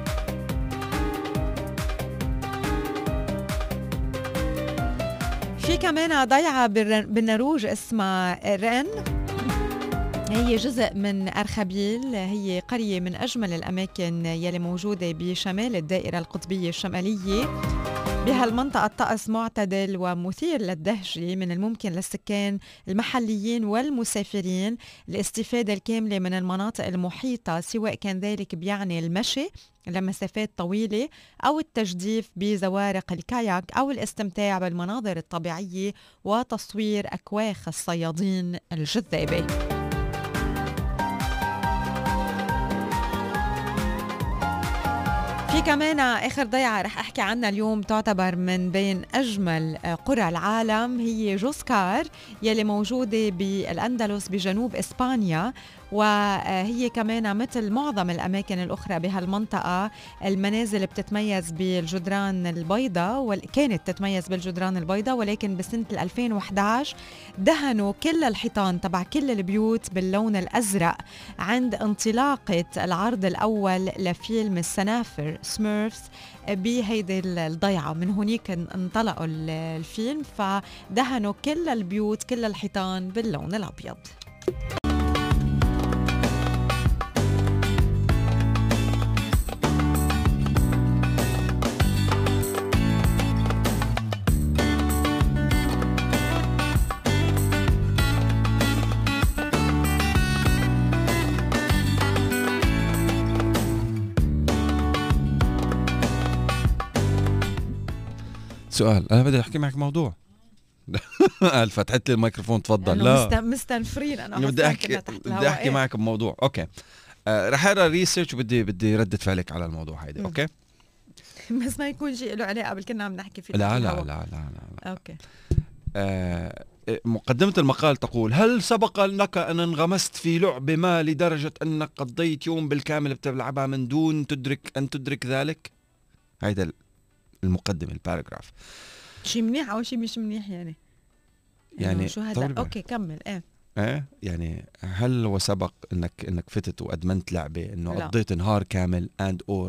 S1: في كمان ضيعة بالر- بالنروج اسمها رين، هي جزء من أرخبيل، هي قرية من أجمل الأماكن يلي موجودة بشمال الدائرة القطبية الشمالية. بهالمنطقة الطقس معتدل ومثير للدهشة، من الممكن للسكان المحليين والمسافرين الاستفادة الكاملة من المناطق المحيطة، سواء كان ذلك بيعني المشي لمسافات طويلة أو التجديف بزوارق الكاياك أو الاستمتاع بالمناظر الطبيعية وتصوير أكواخ الصيادين الجذابة. في كمان آخر ضيعة رح أحكي عنها اليوم، تعتبر من بين أجمل قرى العالم، هي جوسكار يلي موجودة بالأندلس بجنوب إسبانيا. وهي كمان مثل معظم الأماكن الأخرى بهالمنطقة، المنازل بتتميز بالجدران البيضاء، وكانت تتميز بالجدران البيضاء، ولكن بسنة ألفين وإحدى عشر دهنوا كل الحيطان تبع كل البيوت باللون الأزرق عند انطلاقة العرض الأول لفيلم السنافر سميرفز بهيدي الضيعة. من هونيك انطلقوا الفيلم، فدهنوا كل البيوت كل الحيطان باللون الأبيض.
S2: سؤال، انا بدي احكي معك موضوع. قال فتحت لي الميكروفون، تفضل. لا
S1: مست... مستنفرين انا
S2: بدي احكي بدي احكي معك بموضوع. اوكي آه رح اقرا ريسيرش وبدي بدي ردة فعلك على الموضوع هيدا. اوكي
S1: بس ما يكون شيء له علاقه بالكنا عم نحكي فيه.
S2: لا لا, لا لا لا لا
S1: اوكي.
S2: آه مقدمة المقال تقول: هل سبق لك أن انغمست في لعبة ما لدرجة أنك قضيت يوم بالكامل بتلعبها من دون تدرك أن تدرك ذلك؟ هيدا المقدمة، الباراجراف.
S1: شيء منيح أو شيء مش منيح يعني؟
S2: يعني
S1: شو هذا؟ أوكي كمل. إيه
S2: ايه يعني هل وسبق انك انك فتت وادمنت لعبة انه
S1: لا.
S2: قضيت نهار كامل and or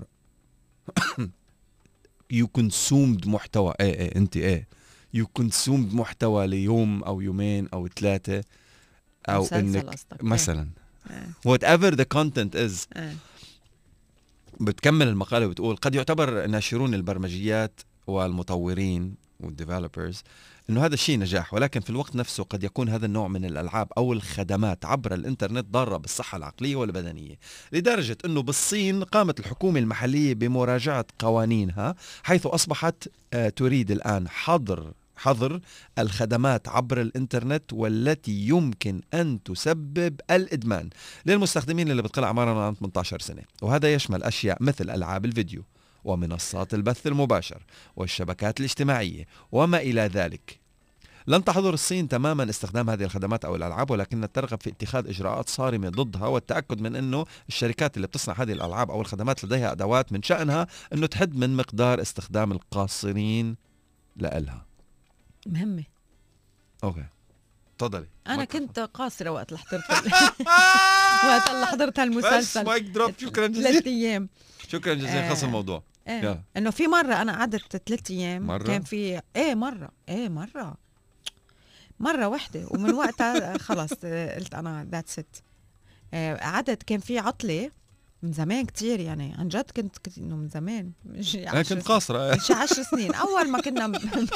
S2: you consumed محتوى ايه ايه انت ايه you consumed محتوى ليوم او يومين او ثلاثة او انك مثلا
S1: إيه.
S2: whatever the content is.
S1: إيه.
S2: بتكمل المقالة وبتقول: قد يعتبر ناشرون البرمجيات والمطورين والديفلوبرز انه هذا الشيء نجاح، ولكن في الوقت نفسه قد يكون هذا النوع من الالعاب او الخدمات عبر الانترنت ضارة بالصحة العقلية والبدنية، لدرجة انه بالصين قامت الحكومة المحلية بمراجعة قوانينها، حيث اصبحت آه تريد الان حظر حظر الخدمات عبر الانترنت والتي يمكن ان تسبب الادمان للمستخدمين اللي بتقل اعمارهم عن ثمانية عشر سنة، وهذا يشمل اشياء مثل العاب الفيديو ومنصات البث المباشر والشبكات الاجتماعية وما إلى ذلك. لن تحظر الصين تماما استخدام هذه الخدمات أو الألعاب، ولكنها ترغب في اتخاذ إجراءات صارمة ضدها والتأكد من أنه الشركات اللي بتصنع هذه الألعاب أو الخدمات لديها أدوات من شأنها أنه تحد من مقدار استخدام القاصرين لإلها.
S1: مهمة.
S2: أوكي تفضلي.
S1: أنا كنت قاصرة وقت اللي حضرت وقت اللي حضرت هالمسلسل.
S2: بس مايك دروب. شكرا جزيلا.
S1: ثلاث أيام.
S2: شكرا جزيلا. خلص الموضوع.
S1: إيه. إنه في مرة أنا قعدت ثلاث أيام
S2: مرة؟
S1: كان في إيه مرة إيه مرة مرة واحدة ومن وقتها خلص قلت أنا that's it. قعدت كان في عطلة من زمان كتير يعني عن جد كنت كنت إنه من زمان مش
S2: أنا كنت قاصرة
S1: مش عشر سنين أول ما كنا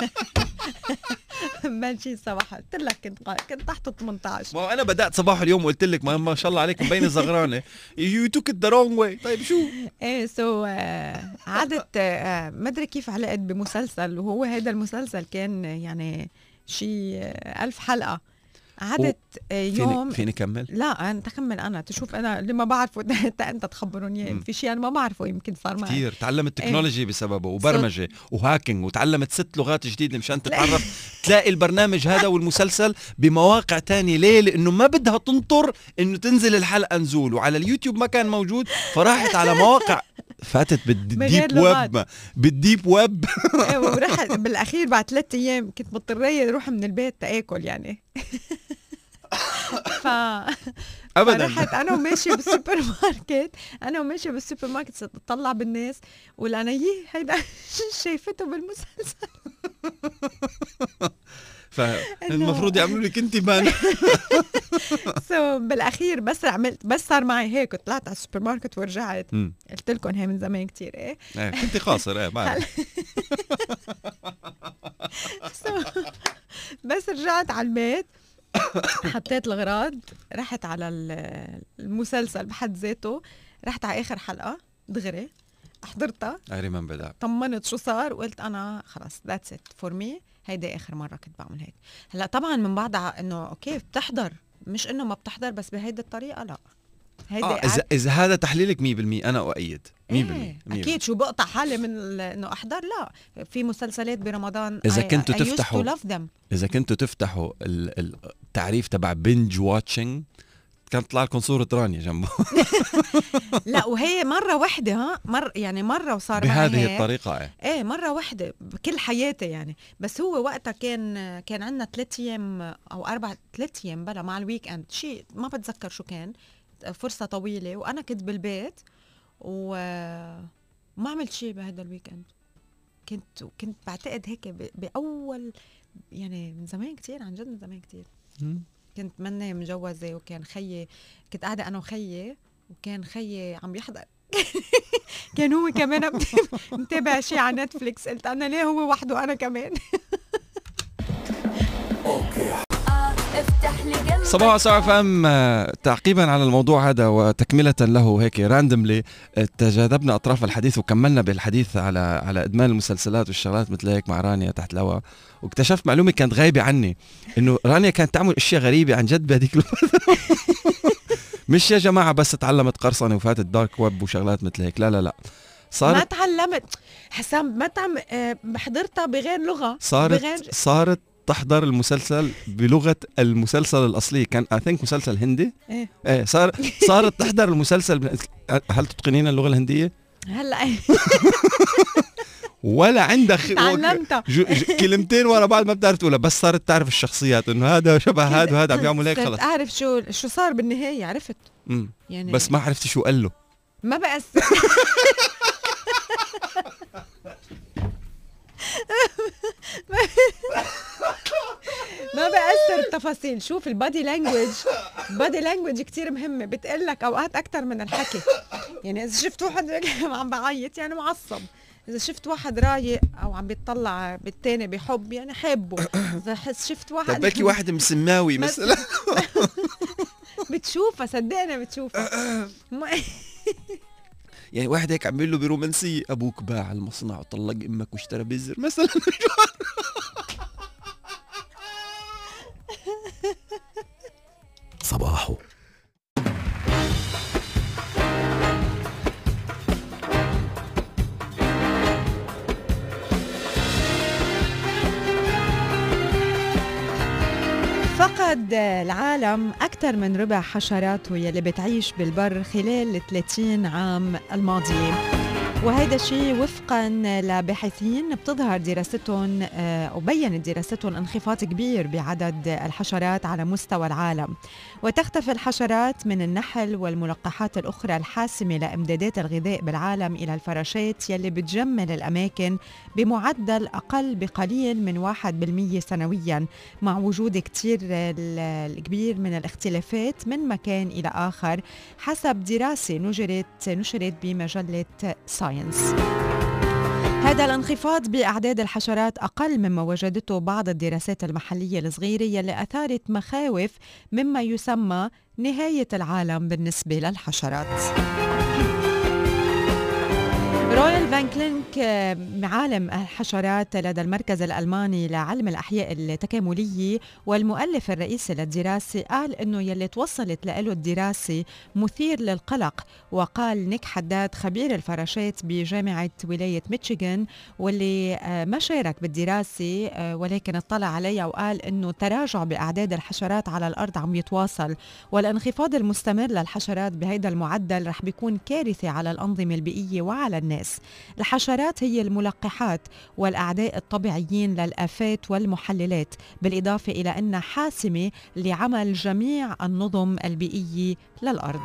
S1: ماشي صباح قلت لك كنت قا... كنت تحت ثمانية عشر.
S2: ما أنا بدأت صباح اليوم وقلت لك ما, ما شاء الله عليك مبين الزغرانة you took it the wrong way. طيب شو
S1: ايه سو عادت ما أدري كيف علقت بمسلسل وهو هذا المسلسل كان يعني شي ألف حلقة. عادت يوم
S2: فيني, فيني كمل؟
S1: لا أنا تكمل أنا تشوف أنا اللي ما بعرفه أنت أنت تخبروني في شيء أنا ما بعرفه يمكن صار معي
S2: كتير. تعلمت تكنولوجي بسببه وبرمجة وهاكينج وتعلمت ست لغات جديدة مشان تتعرف تلاقي البرنامج هذا والمسلسل بمواقع تانية. ليه؟ لأنه ما بدها تنطر إنه تنزل الحلقة نزول وعلى اليوتيوب ما كان موجود فراحت على مواقع فاتت بالديب ويب بالديب ويب
S1: ورحت بالأخير بعد ثلاثة أيام كنت مضطرية أروح من البيت تأكل يعني ف
S2: ابدا
S1: رحت انا وماشيه بالسوبر ماركت انا وماشيه بالسوبر ماركت تطلع بالناس ولا يي هيدا شايفته بالمسلسل
S2: فالمفروض يعملوا لك انت بان
S1: سو بالاخير بس عملت بس صار معي هيك طلعت على السوبر ماركت ورجعت قلت لكم هي من زمان كتير ايه
S2: ايه كنت قاصر ايه بعرف
S1: بس رجعت على البيت حطيت الغراض رحت على المسلسل بحد ذاته رحت على آخر حلقة دغري حضرتها طمنت شو صار وقلت أنا خلاص that's it for me هيدا آخر مرة كنت بعمل هيك. هلأ طبعا من بعدها إنه أوكي بتحضر مش إنه ما بتحضر بس بهيدا الطريقة لا
S2: هيدا آه إذا إذا هذا تحليلك مية بالمية أنا أؤيد مية بالمية
S1: إيه أكيد. شو بقطع حالي من إنه أحضر لا في مسلسلات برمضان
S2: إذا كنتوا تفتحوا إذا كنتوا تفتحوا التعريف تبع بنج واتشنج كانت تطلع لكم صورة رانيا جنبه
S1: لا وهي مرة واحدة ها مر يعني مرة وصار
S2: بهذه الطريقة ايه
S1: ايه مرة واحدة بكل حياتي يعني. بس هو وقتها كان كان عندنا ثلاث ايام او اربع ثلاث ايام بلا مع الويك اند شيء ما بتذكر شو كان فرصة طويلة وانا كنت بالبيت وما عملت شيء بهذا الويك اند. كنت كنت بعتقد هيك باول يعني من زمان كتير عن جد من زمان كتير كنت مني مجوزة وكان خيي كنت قاعدة أنا وخيي وكان خيي عم يحضر كان هو كمان متابع شيء على نتفليكس قلت أنا ليه هو وحده أنا كمان
S2: صباح صار فهم تعقيبا على الموضوع هذا وتكملة له هيك راندملي تجاذبنا أطراف الحديث وكملنا بالحديث على على إدمان المسلسلات والشغلات مثل هيك مع رانيا تحت الهواء واكتشفت معلومة كانت غايبة عني إنه رانيا كانت تعمل أشياء غريبة عن جد بهذيك الفترة مش يا جماعة بس تعلمت قرصنة وفاتت دارك ويب وشغلات مثل هيك لا لا لا
S1: صارت ما تعلمت حسام ما تعم حضرتها بغير لغة
S2: صارت
S1: بغير...
S2: صارت تحضر المسلسل بلغة المسلسل الأصلي كان I think مسلسل هندي
S1: ايه,
S2: ايه صار صارت تحضر المسلسل. هل تتقنين اللغة الهندية؟
S1: هلا
S2: ولا عندك
S1: تعلمتها
S2: كلمتين ورا بعض ما بتعرف تقولها بس صارت تعرف الشخصيات انه هذا شبه هذا وهذا عم يعمل هيك خلص
S1: اعرف شو شو صار بالنهاية عرفت
S2: يعني بس ما عرفتي شو قال له
S1: ما بأثر ما بأثر التفاصيل. شوف البادي لانجويج البادي لانجويج كتير مهمة بتقلك أوقات أكتر من الحكي. يعني إذا شفت واحد عم بعيط يعني معصب إذا شفت واحد رايق أو عم بيطلع بالتاني بحب يعني حبه. إذا شفت واحد
S2: طب بلكي واحد مسماوي مثلا
S1: بتشوفها صدقني بتشوفها
S2: يعني واحد هيك عم بيقول له برومانسية أبوك باع المصنع وطلق أمك واشترى بزر مثلا
S5: صباحو
S1: فقد العالم أكثر من ربع حشراته يلي بتعيش بالبر خلال ثلاثين عام الماضية، وهذا الشيء وفقا لباحثين بتظهر دراستهم وبينت دراستهم انخفاض كبير بعدد الحشرات على مستوى العالم. وتختفي الحشرات من النحل والملقحات الأخرى الحاسمة لإمدادات الغذاء بالعالم إلى الفراشات يلي بتجمل الأماكن بمعدل أقل بقليل من واحد بالمية سنويا، مع وجود كتير الكبير من الاختلافات من مكان إلى آخر حسب دراسة نشرت نشرت بمجلة ساينس. هذا الانخفاض بأعداد الحشرات أقل مما وجدته بعض الدراسات المحلية الصغيرة يلي أثارت مخاوف مما يسمى نهاية العالم بالنسبة للحشرات. رويال فانكلينك عالم الحشرات لدى المركز الألماني لعلم الأحياء التكاملية والمؤلف الرئيسي للدراسة قال إنه يلي توصلت له الدراسة مثير للقلق. وقال نيك حداد خبير الفراشات بجامعة ولاية ميشيغان واللي ما شارك بالدراسة ولكن اطلع عليها وقال إنه تراجع بأعداد الحشرات على الأرض عم يتواصل، والانخفاض المستمر للحشرات بهذا المعدل رح بيكون كارثة على الأنظمة البيئية وعلى الناس. الحشرات هي الملقحات والأعداء الطبيعيين للآفات والمحللات، بالإضافة إلى أنها حاسمة لعمل جميع النظم البيئية للأرض.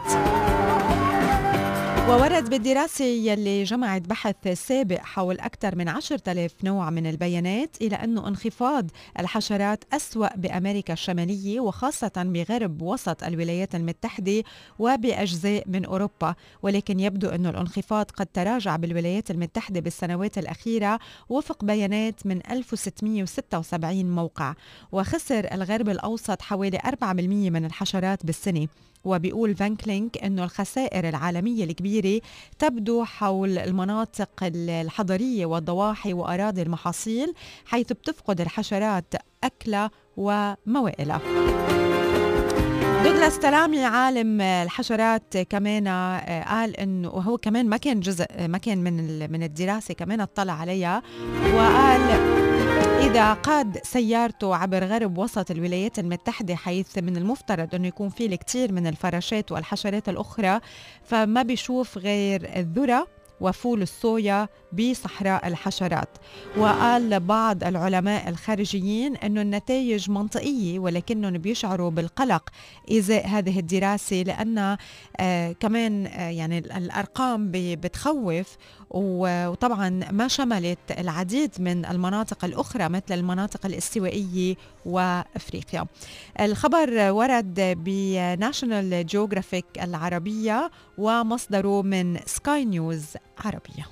S1: وورد بالدراسة يلي جمعت بحث سابق حول أكثر من عشرة آلاف نوع من البيانات إلى أنه انخفاض الحشرات أسوأ بأمريكا الشمالية وخاصة بغرب وسط الولايات المتحدة وبأجزاء من أوروبا، ولكن يبدو أنه الانخفاض قد تراجع بالولايات المتحدة بالسنوات الأخيرة وفق بيانات من ألف وستمية وستة وسبعين موقع. وخسر الغرب الأوسط حوالي أربعة بالمية من الحشرات بالسنة. وبيقول فانكلينك أنه الخسائر العالمية الكبيرة تبدو حول المناطق الحضرية والضواحي وأراضي المحاصيل، حيث بتفقد الحشرات أكلها وموائلها. دوغلاس تلامي عالم الحشرات كمان قال انه وهو كمان ما كان جزء ما كان من من الدراسه، كمان اطلع عليها وقال إذا قاد سيارته عبر غرب وسط الولايات المتحدة حيث من المفترض أنه يكون فيه الكثير من الفراشات والحشرات الأخرى، فما بيشوف غير الذرة وفول الصويا بصحراء الحشرات. وقال بعض العلماء الخارجيين أنه النتائج منطقية ولكنهم بيشعروا بالقلق إزاء هذه الدراسة لأن آه كمان آه يعني الأرقام بتخوف، وطبعا ما شملت العديد من المناطق الأخرى مثل المناطق الاستوائية وأفريقيا. الخبر ورد بناشونال جيوغرافيك العربية ومصدره من سكاي نيوز عربية.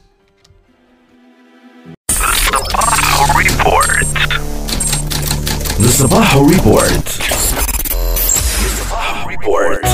S5: The Sabaho Report. The Sabaho Report.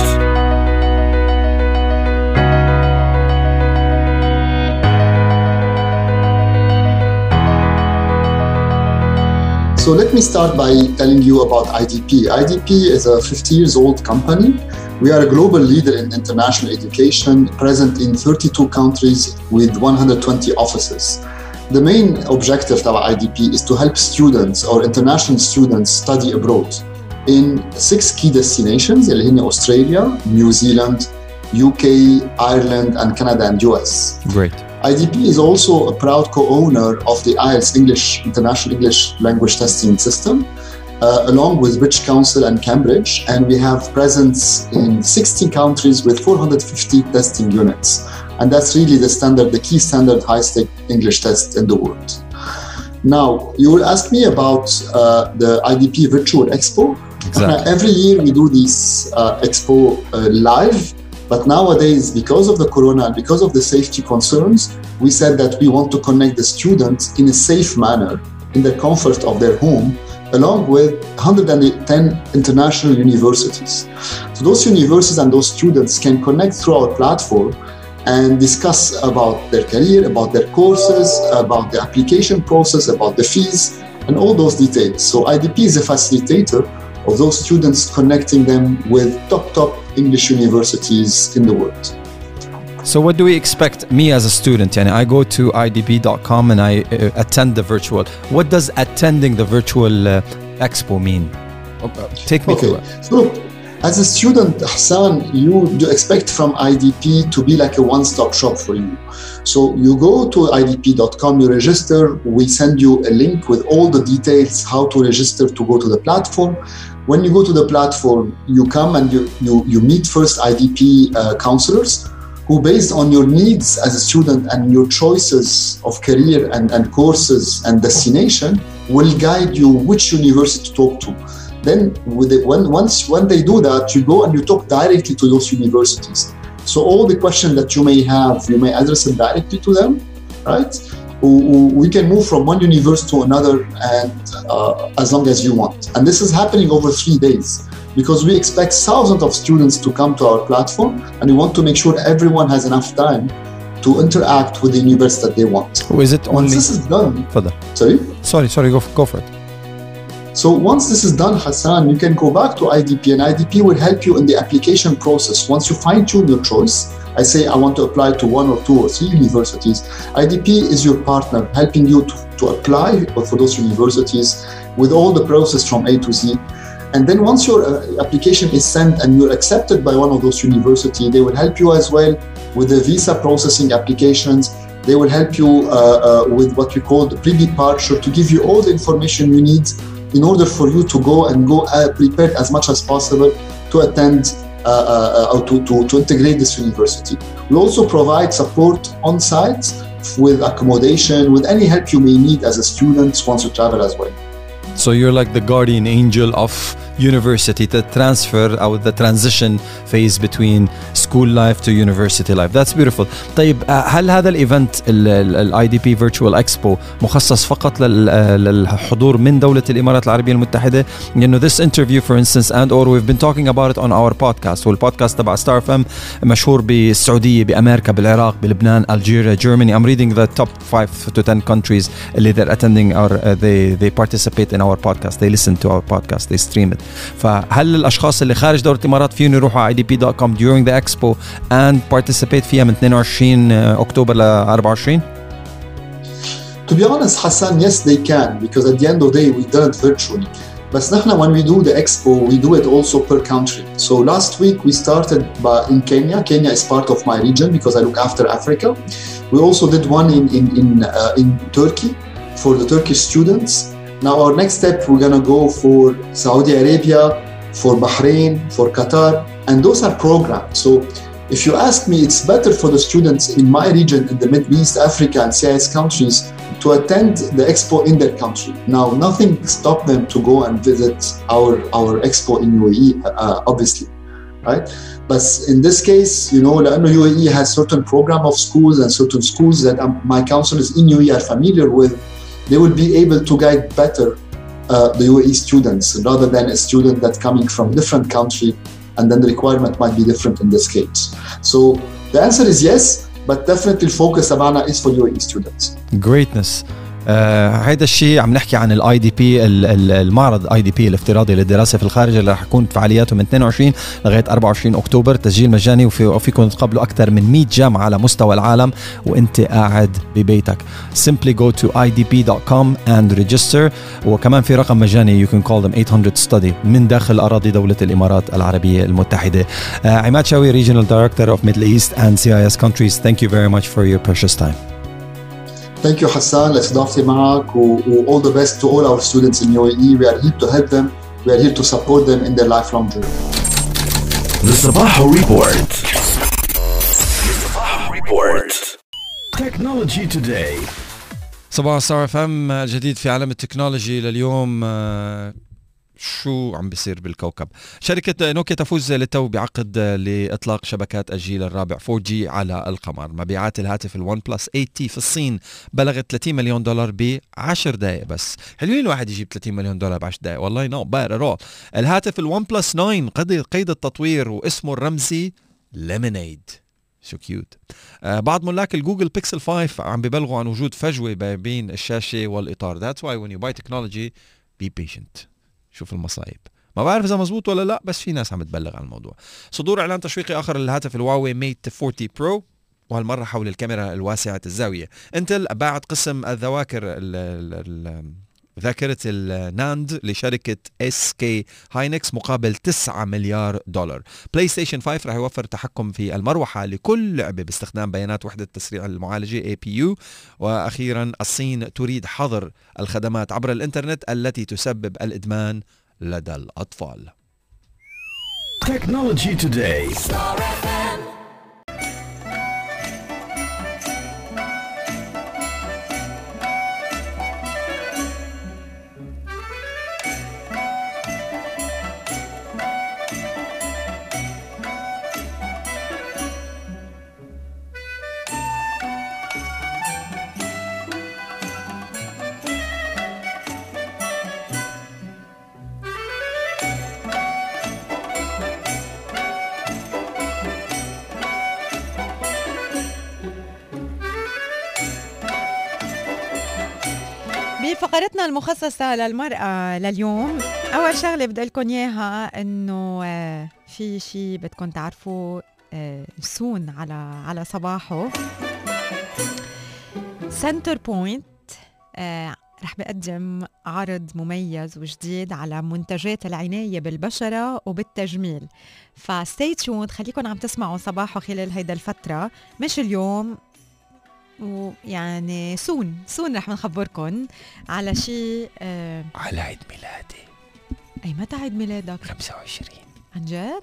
S6: So let me start by telling you about I D P. I D P is a fifty years old company. We are a global leader in international education, present in thirty-two countries with one hundred twenty offices. The main objective of I D P is to help students or international students study abroad in six key destinations, Australia, New Zealand, U K, Ireland, and Canada and U S.
S2: Great.
S6: I D P is also a proud co-owner of the I E L T S English International English Language Testing System, uh, along with British Council and Cambridge, and we have presence in sixty countries with four hundred fifty testing units. And that's really the standard, the key standard high-stake English test in the world. Now, you will ask me about uh, the I D P Virtual Expo.
S2: Exactly.
S6: Uh, every year we do this uh, expo uh, live, but nowadays, because of the corona and because of the safety concerns, we said that we want to connect the students in a safe manner, in the comfort of their home, along with one hundred ten international universities. So those universities and those students can connect through our platform and discuss about their career, about their courses, about the application process, about the fees, and all those details. So I D P is a facilitator of those students, connecting them with top, top English universities in the world.
S2: So what do we expect me as a student? Yani I go to I D P dot com and I uh, attend the virtual. What does attending the virtual uh, expo mean? take me
S6: Okay.
S2: through it.
S6: So, as a student, Hassan, you do expect from I D P to be like a one-stop shop for you. So you go to I D P dot com, you register, we send you a link with all the details, how to register to go to the platform. When you go to the platform, you come and you, you, you meet first I D P uh, counselors who, based on your needs as a student and your choices of career and, and courses and destination, will guide you which university to talk to. Then with it, when, once when they do that, you go and you talk directly to those universities. So all the questions that you may have, you may address them directly to them, right? We can move from one university to another and uh, as long as you want. And this is happening over three days because we expect thousands of students to come to our platform and we want to make sure everyone has enough time to interact with the university that they want.
S2: Or is it only...
S6: Once this is done...
S2: Further.
S6: Sorry?
S2: Sorry, sorry, go, go for it.
S6: So once this is done, Hassan, you can go back to I D P and I D P will help you in the application process. Once you fine-tune your choice, I say I want to apply to one or two or three universities, I D P is your partner helping you to, to apply for those universities with all the process from A to Z. And then once your uh, application is sent and you're accepted by one of those universities, they will help you as well with the visa processing applications. They will help you uh, uh, with what we call the pre-departure to give you all the information you need in order for you to go and go uh, prepared as much as possible to attend uh, uh, or to, to, to integrate this university. We also provide support on site with accommodation, with any help you may need as a student once you travel as well.
S2: So you're like the guardian angel of university, the transfer or the transition phase between school life to university life. That's beautiful. طيب هل هذا الايفنت الاي دي بي فيرتشوال اكسبو مخصص فقط للحضور من دولة الامارات العربية المتحدة؟ لانه this interview for instance and or we've been talking about it on our podcast والبودكاست تبع ستار اف ام مشهور بالسعودية بامريكا بالعراق بلبنان الجيريا Germany. I'm reading the top five to ten countries اللي they're attending or uh, they they participate in our podcast, they listen to our podcast, they stream it. فهل الاشخاص اللي خارج دولة الامارات فيهم يروحوا على I D P dot com during the expo and participate فيها من اثنين وعشرين اكتوبر ل أربعة وعشرين؟
S6: To be honest, Hassan, yes, they can, because at the end of the day, we done it virtually. But when we do the expo, we do it also per country. So last week we started by, in Kenya. Kenya is part of my region because I look after Africa. We also did one in in in, uh, in Turkey for the Turkish students. Now our next step, we're gonna go for Saudi Arabia, for Bahrain, for Qatar, and those are programs. So if you ask me, it's better for the students in my region, in the Middle East, Africa, and C I S countries to attend the expo in their country. Now, nothing stopped them to go and visit our, our expo in U A E, uh, obviously, right? But in this case, you know, U A E has certain program of schools and certain schools that um, my counselors in U A E are familiar with. They will be able to guide better uh, the U A E students rather than a student that's coming from a different country, and then the requirement might be different in this case. So the answer is yes, but definitely the focus تبعنا is for U A E students.
S2: Greatness. هيدا uh, الشيء عم نحكي عن الاي دي بي المعرض اي دي بي الافتراضي للدراسه في الخارج اللي رح يكون فعالياته من اثنين وعشرين لغايه أربعة وعشرين اكتوبر. تسجيل مجاني وفي وفيكم تقابلوا اكثر من مية جامعه على مستوى العالم وانت قاعد ببيتك. Simply go to I D P dot com and register. وكمان في رقم مجاني you can call them eight hundred study من داخل اراضي دوله الامارات العربيه المتحده. uh, عماد شاوي, Regional Director of Middle East and C I S countries, thank you very much for your precious time.
S6: Thank you, Hassan. لاستضافتي معك و all the best to all our students in U A E. We are here to help them. We are here to support them in their lifelong journey.
S5: The Sabaho Report. The Sabaho Report. Technology today.
S2: صباح ستار اف ام الجديد في عالم التكنولوجي لليوم. شو عم بيصير بالكوكب؟ شركة نوكيا تفوز للتو بعقد لإطلاق شبكات الجيل الرابع فور جي على القمر. مبيعات الهاتف الون بلس ثمانية تي في الصين بلغت ثلاثين مليون دولار بعشر دقائق بس. حلوين الواحد يجيب ثلاثين مليون دولار بعشر دقائق والله. نو باد ات اول. الهاتف الون بلس تسعة قيد قيد التطوير واسمه الرمزي ليمونيد. شو كيوت. آه بعض ملاك الجوجل بيكسل خمسة عم ببلغوا عن وجود فجوة بين الشاشة والإطار. That's why when you buy technology be patient. شوف المصايب. ما بعرف إذا مزبوط ولا لا بس في ناس عم تبلغ عن الموضوع. صدور إعلان تشويقي آخر للهاتف الهواوي ميت أربعين برو وهالمرة حول الكاميرا الواسعة الزاوية. انتل باعت قسم الذواكر ال ال ال ذاكرة الناند لشركة اس كي هاينكس مقابل تسعة مليار دولار. بلاي ستيشن خمسة رح يوفر تحكم في المروحة لكل لعبة باستخدام بيانات وحدة تسريع المعالجة إيه بي يو. وأخيرا الصين تريد حظر الخدمات عبر الإنترنت التي تسبب الإدمان لدى الأطفال.
S5: Technology Today.
S1: بفقرتنا المخصصة للمرأة لليوم، أول شغلة بدي لكم إياها إنه في شيء بدكم تعرفوا سون على على صباحه. سنتر بوينت رح بقدم عرض مميز وجديد على منتجات العناية بالبشرة وبالتجميل، فستي تيوند، خليكم عم تسمعوا صباحه خلال هيدا الفترة، مش اليوم ويعني سون سون رح نخبركن على شيء آه
S2: على عيد ميلادي.
S1: أي متى عيد ميلادك؟
S2: خمسة وعشرين.
S1: عن جد؟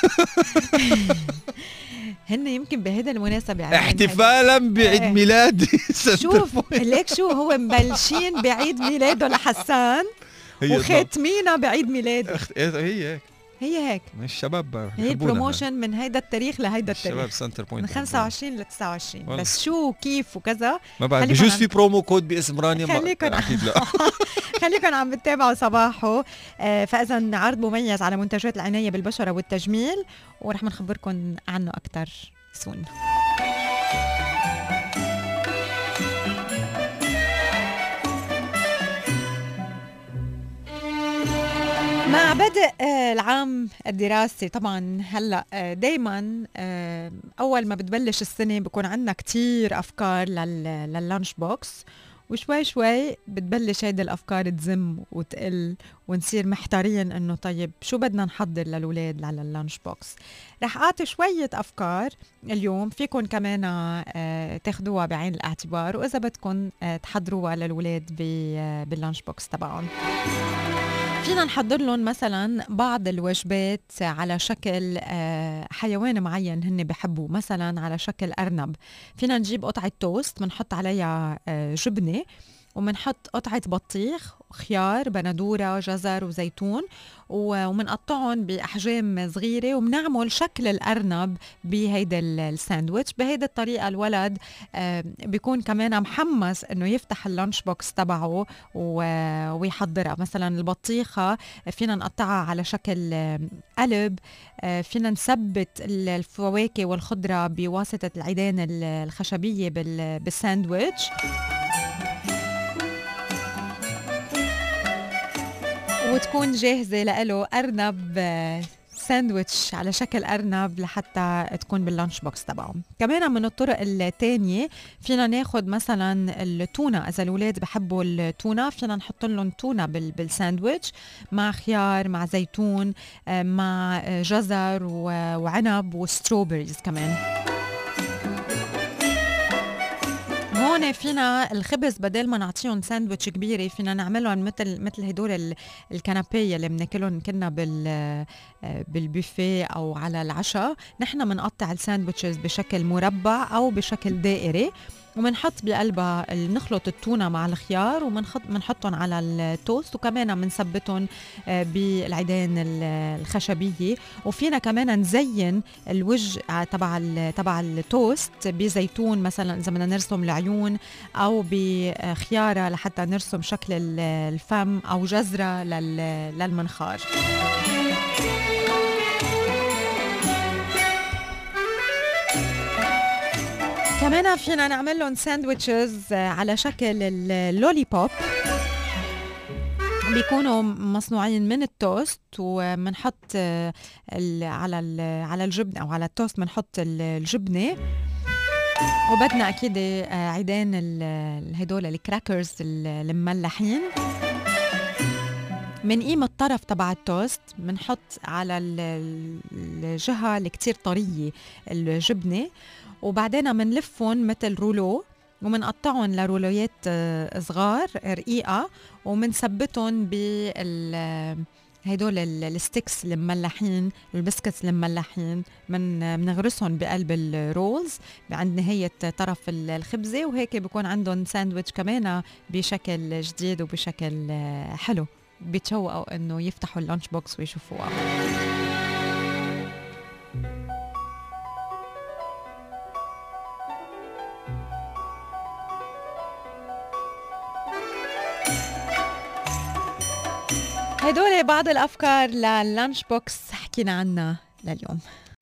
S1: هن يمكن بهذا المناسبة
S2: احتفالا بعيد ميلادي.
S1: شوف ليك شو هو مبلشين بعيد ميلاده لحسان وخاتمينه بعيد ميلاده.
S2: هي هيك
S1: هي هيك
S2: من الشباب،
S1: هي بروموشن من هيدا التاريخ لهيدا التاريخ،
S2: الشباب سنتر بوينت
S1: من خمسة وعشرين ل تسعة وعشرين. بس شو كيف وكذا
S2: ما بعرف، بجوز في برومو كود باسم رانيا،
S1: خليكن
S2: اكيد لا.
S1: خليكن عم بتتابعوا صباحه. آه فاذا عرض مميز على منتجات العناية بالبشرة والتجميل، ورح نخبركم عنه اكثر سون. مع بدء العام الدراسي طبعا هلا دايما اول ما بتبلش السنه بكون عندنا كتير افكار لللانش بوكس، وشوي شوي بتبلش هيدي الافكار تزم وتقل ونصير محتارين انه طيب شو بدنا نحضر للولاد على اللانش بوكس. رح اعطي شويه افكار اليوم فيكم كمان تاخدوها بعين الاعتبار، واذا بدكم تحضروها للولاد باللانش بوكس تبعهم. فينا نحضر لهم مثلا بعض الوجبات على شكل حيوان معين هن بحبوا، مثلا على شكل أرنب. فينا نجيب قطعة توست منحط عليها جبنة، ومنحط قطعة بطيخ وخيار بندورة جزر وزيتون، ومنقطعهم بأحجام صغيرة، ومنعمل شكل الأرنب بهيدا الساندويتش. بهيدا الطريقة الولد بيكون كمان محمس انه يفتح اللانش بوكس تبعه ويحضرها. مثلا البطيخة فينا نقطعها على شكل قلب، فينا نثبت الفواكه والخضرة بواسطة العيدان الخشبية بالساندويتش، وتكون جاهزة لإله أرنب ساندويتش على شكل أرنب لحتى تكون باللانش بوكس تبعهم. كمان من الطرق التانية فينا ناخد مثلا التونة، إذا الولاد بحبوا التونة فينا نحط لهم تونة بالساندويتش مع خيار مع زيتون مع جزر وعنب وستروبريز كمان. هون فينا الخبز بدل ما نعطيهم ساندويتش كبيرة فينا نعملهم مثل مثل هدول الكنابيه اللي بناكلهم كنا بال بالبوفيه او على العشاء. نحن بنقطع الساندويتشز بشكل مربع او بشكل دائري، ومنحط بقلبها نخلط التونة مع الخيار ومنحطهم على التوست، وكمان منثبتهم بالعيدان الخشبية. وفينا كمان نزين الوجه تبع تبع التوست بزيتون، مثلا إذا بدنا نرسم العيون، أو بخيارة لحتى نرسم شكل الفم، أو جزرة للمنخار. كمان فينا نعمل لهم ساندويتشز على شكل اللولي بوب، بيكونوا مصنوعين من التوست، ومنحط على على الجبنه او على التوست منحط الجبنه وبدنا اكيد عيدان هدول الكراكرز المملحين. منقيم الطرف تبع التوست، منحط على الجهة اللي كتير طرية الجبنة، وبعدين منلفهم مثل رولو ومنقطعهم لرولويات صغار رقيقة، ومنثبتهم بال هيدول الستيكس المملحين، البسكتس المملحين، من منغرسهم بقلب الرولز عند نهاية طرف الخبزة، وهيك بيكون عندهم ساندويتش كمان بشكل جديد وبشكل حلو. بيتشوقوا انه يفتحوا اللانش بوكس ويشوفوها. هدول بعض الأفكار لللانش بوكس حكينا عنها لليوم.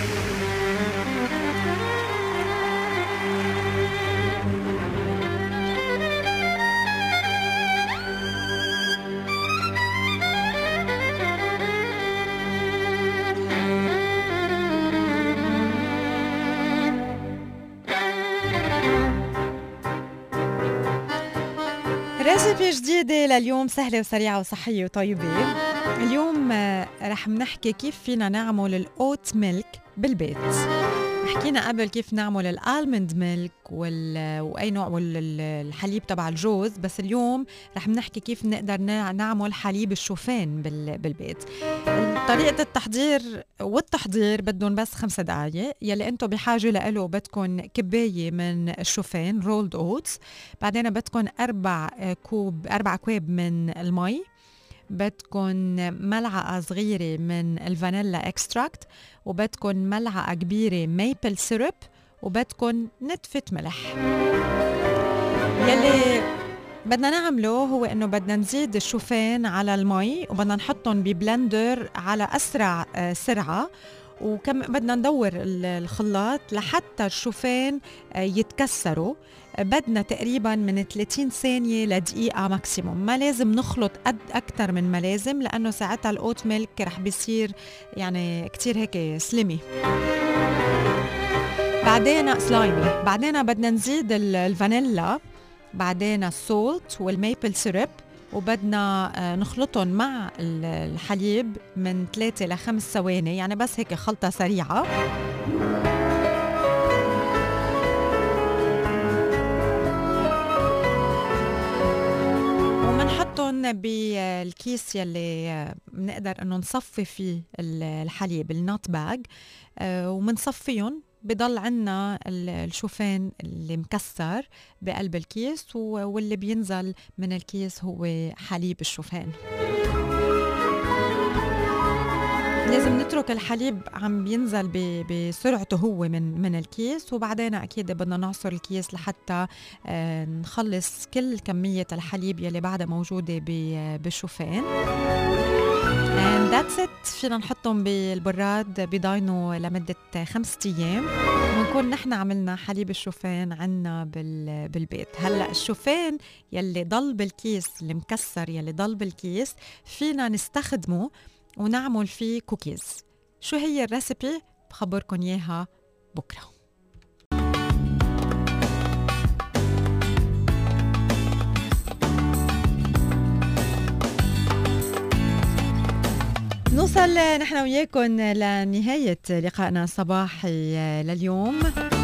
S1: ريسيبي جديدة لليوم، سهلة وسريعة وصحية وطيبة. اليوم رح منحكي كيف فينا نعمل الأوت ميلك بالبيت. حكينا قبل كيف نعمل الالمند ميلك وال... واي نوع والحليب تبع الجوز، بس اليوم رح نحكي كيف نقدر نعمل حليب الشوفان بال... بالبيت. طريقة التحضير والتحضير بدهم بس خمسة دقايق. يلي انتم بحاجة لإله بدكم كباية من الشوفان رولد اوتس، بعدين بدكم أربع كوب أربع كواب من المي، بدكن ملعقة صغيرة من الفانيلا اكستراكت، وبدكن ملعقة كبيرة ميبل سيرب، وبدكن نتفة ملح. يلي بدنا نعمله هو انه بدنا نزيد الشوفان على المي، وبدنا نحطهم ببلندر على اسرع سرعة، وكم بدنا ندور الخلاط لحتى الشوفان يتكسروا. بدنا تقريبا من ثلاثين ثانية لدقيقة ماكسيموم، ما لازم نخلط قد أكتر من ما لازم، لأنه ساعتها الأوت ميلك رح بيصير يعني كتير هيك سلمي، بعدين سلايمي. بعدين بدنا نزيد الفانيلا، بعدين السولت والميبل سيرب، وبدنا نخلطهم مع الحليب من ثلاثة لخمس ثواني، يعني بس هيك خلطة سريعة. ومنحطهم بالكيس يلي بنقدر انه نصفي فيه الحليب النوت باج، ومنصفيهم. بضل عنا الشوفان اللي مكسر بقلب الكيس، واللي بينزل من الكيس هو حليب الشوفان. لازم نترك الحليب عم بينزل بسرعته هو من من الكيس، وبعدين اكيد بدنا نعصر الكيس لحتى نخلص كل كمية الحليب يلي بعدها موجودة بالشوفان. and that's it. فينا نحطهم بالبراد بيضاينوا لمدة خمسة أيام، ونكون نحن عملنا حليب الشوفان عنا بالبيت. هلأ الشوفان يلي ضل بالكيس اللي مكسر يلي ضل بالكيس فينا نستخدمه ونعمل فيه كوكيز. شو هي الريسيبي؟ بخبركن إياها بكرة. نوصل نحن وياكم لنهاية لقائنا الصباحي لليوم،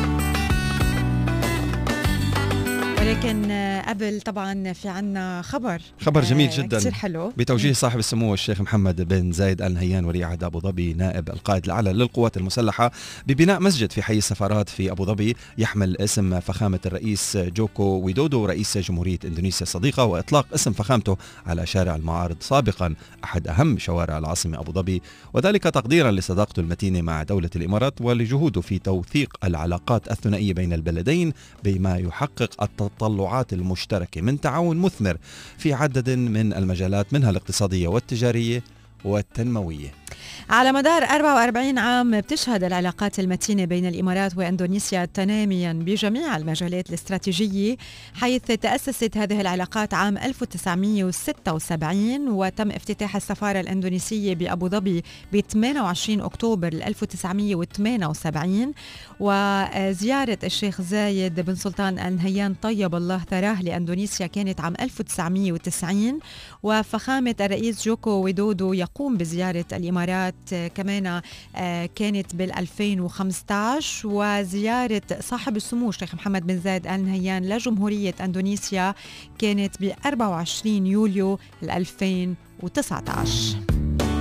S1: ولكن قبل طبعا في عنا خبر
S2: خبر جميل جدا
S1: كتير حلو
S2: بتوجيه صاحب السمو الشيخ محمد بن زايد آل نهيان ولي عهد أبو ظبي نائب القائد الأعلى للقوات المسلحة ببناء مسجد في حي السفارات في أبو ظبي يحمل اسم فخامة الرئيس جوكو ويدودو رئيس جمهورية إندونيسيا الصديقة، وإطلاق اسم فخامته على شارع المعارض سابقا أحد أهم شوارع العاصمة أبو ظبي، وذلك تقديرا لصداقته المتينة مع دولة الإمارات ولجهوده في توثيق العلاقات الثنائية بين البلدين بما يحقق التطلعات المشتركة من تعاون مثمر في عدد من المجالات منها الاقتصادية والتجارية والتنموية.
S1: على مدار أربعة وأربعين عام بتشهد العلاقات المتينة بين الإمارات وإندونيسيا تناميا بجميع المجالات الاستراتيجية، حيث تأسست هذه العلاقات عام ألف وتسعمئة وستة وسبعين وتم افتتاح السفارة الإندونيسية بأبو ظبي ب ثمانية وعشرين أكتوبر ألف وتسعمئة وثمانية وسبعين، وزيارة الشيخ زايد بن سلطان آل نهيان طيب الله ثراه لإندونيسيا كانت عام ألف وتسعمئة وتسعين، وفخامة الرئيس جوكو ويدودو يقوم بزيارة الإمارات كمان كانت بالألفين وخمسة عشر، وزيارة صاحب السمو الشيخ محمد بن زايد آل نهيان لجمهورية إندونيسيا كانت ب أربعة وعشرين يوليو ألفين وتسعة عشر.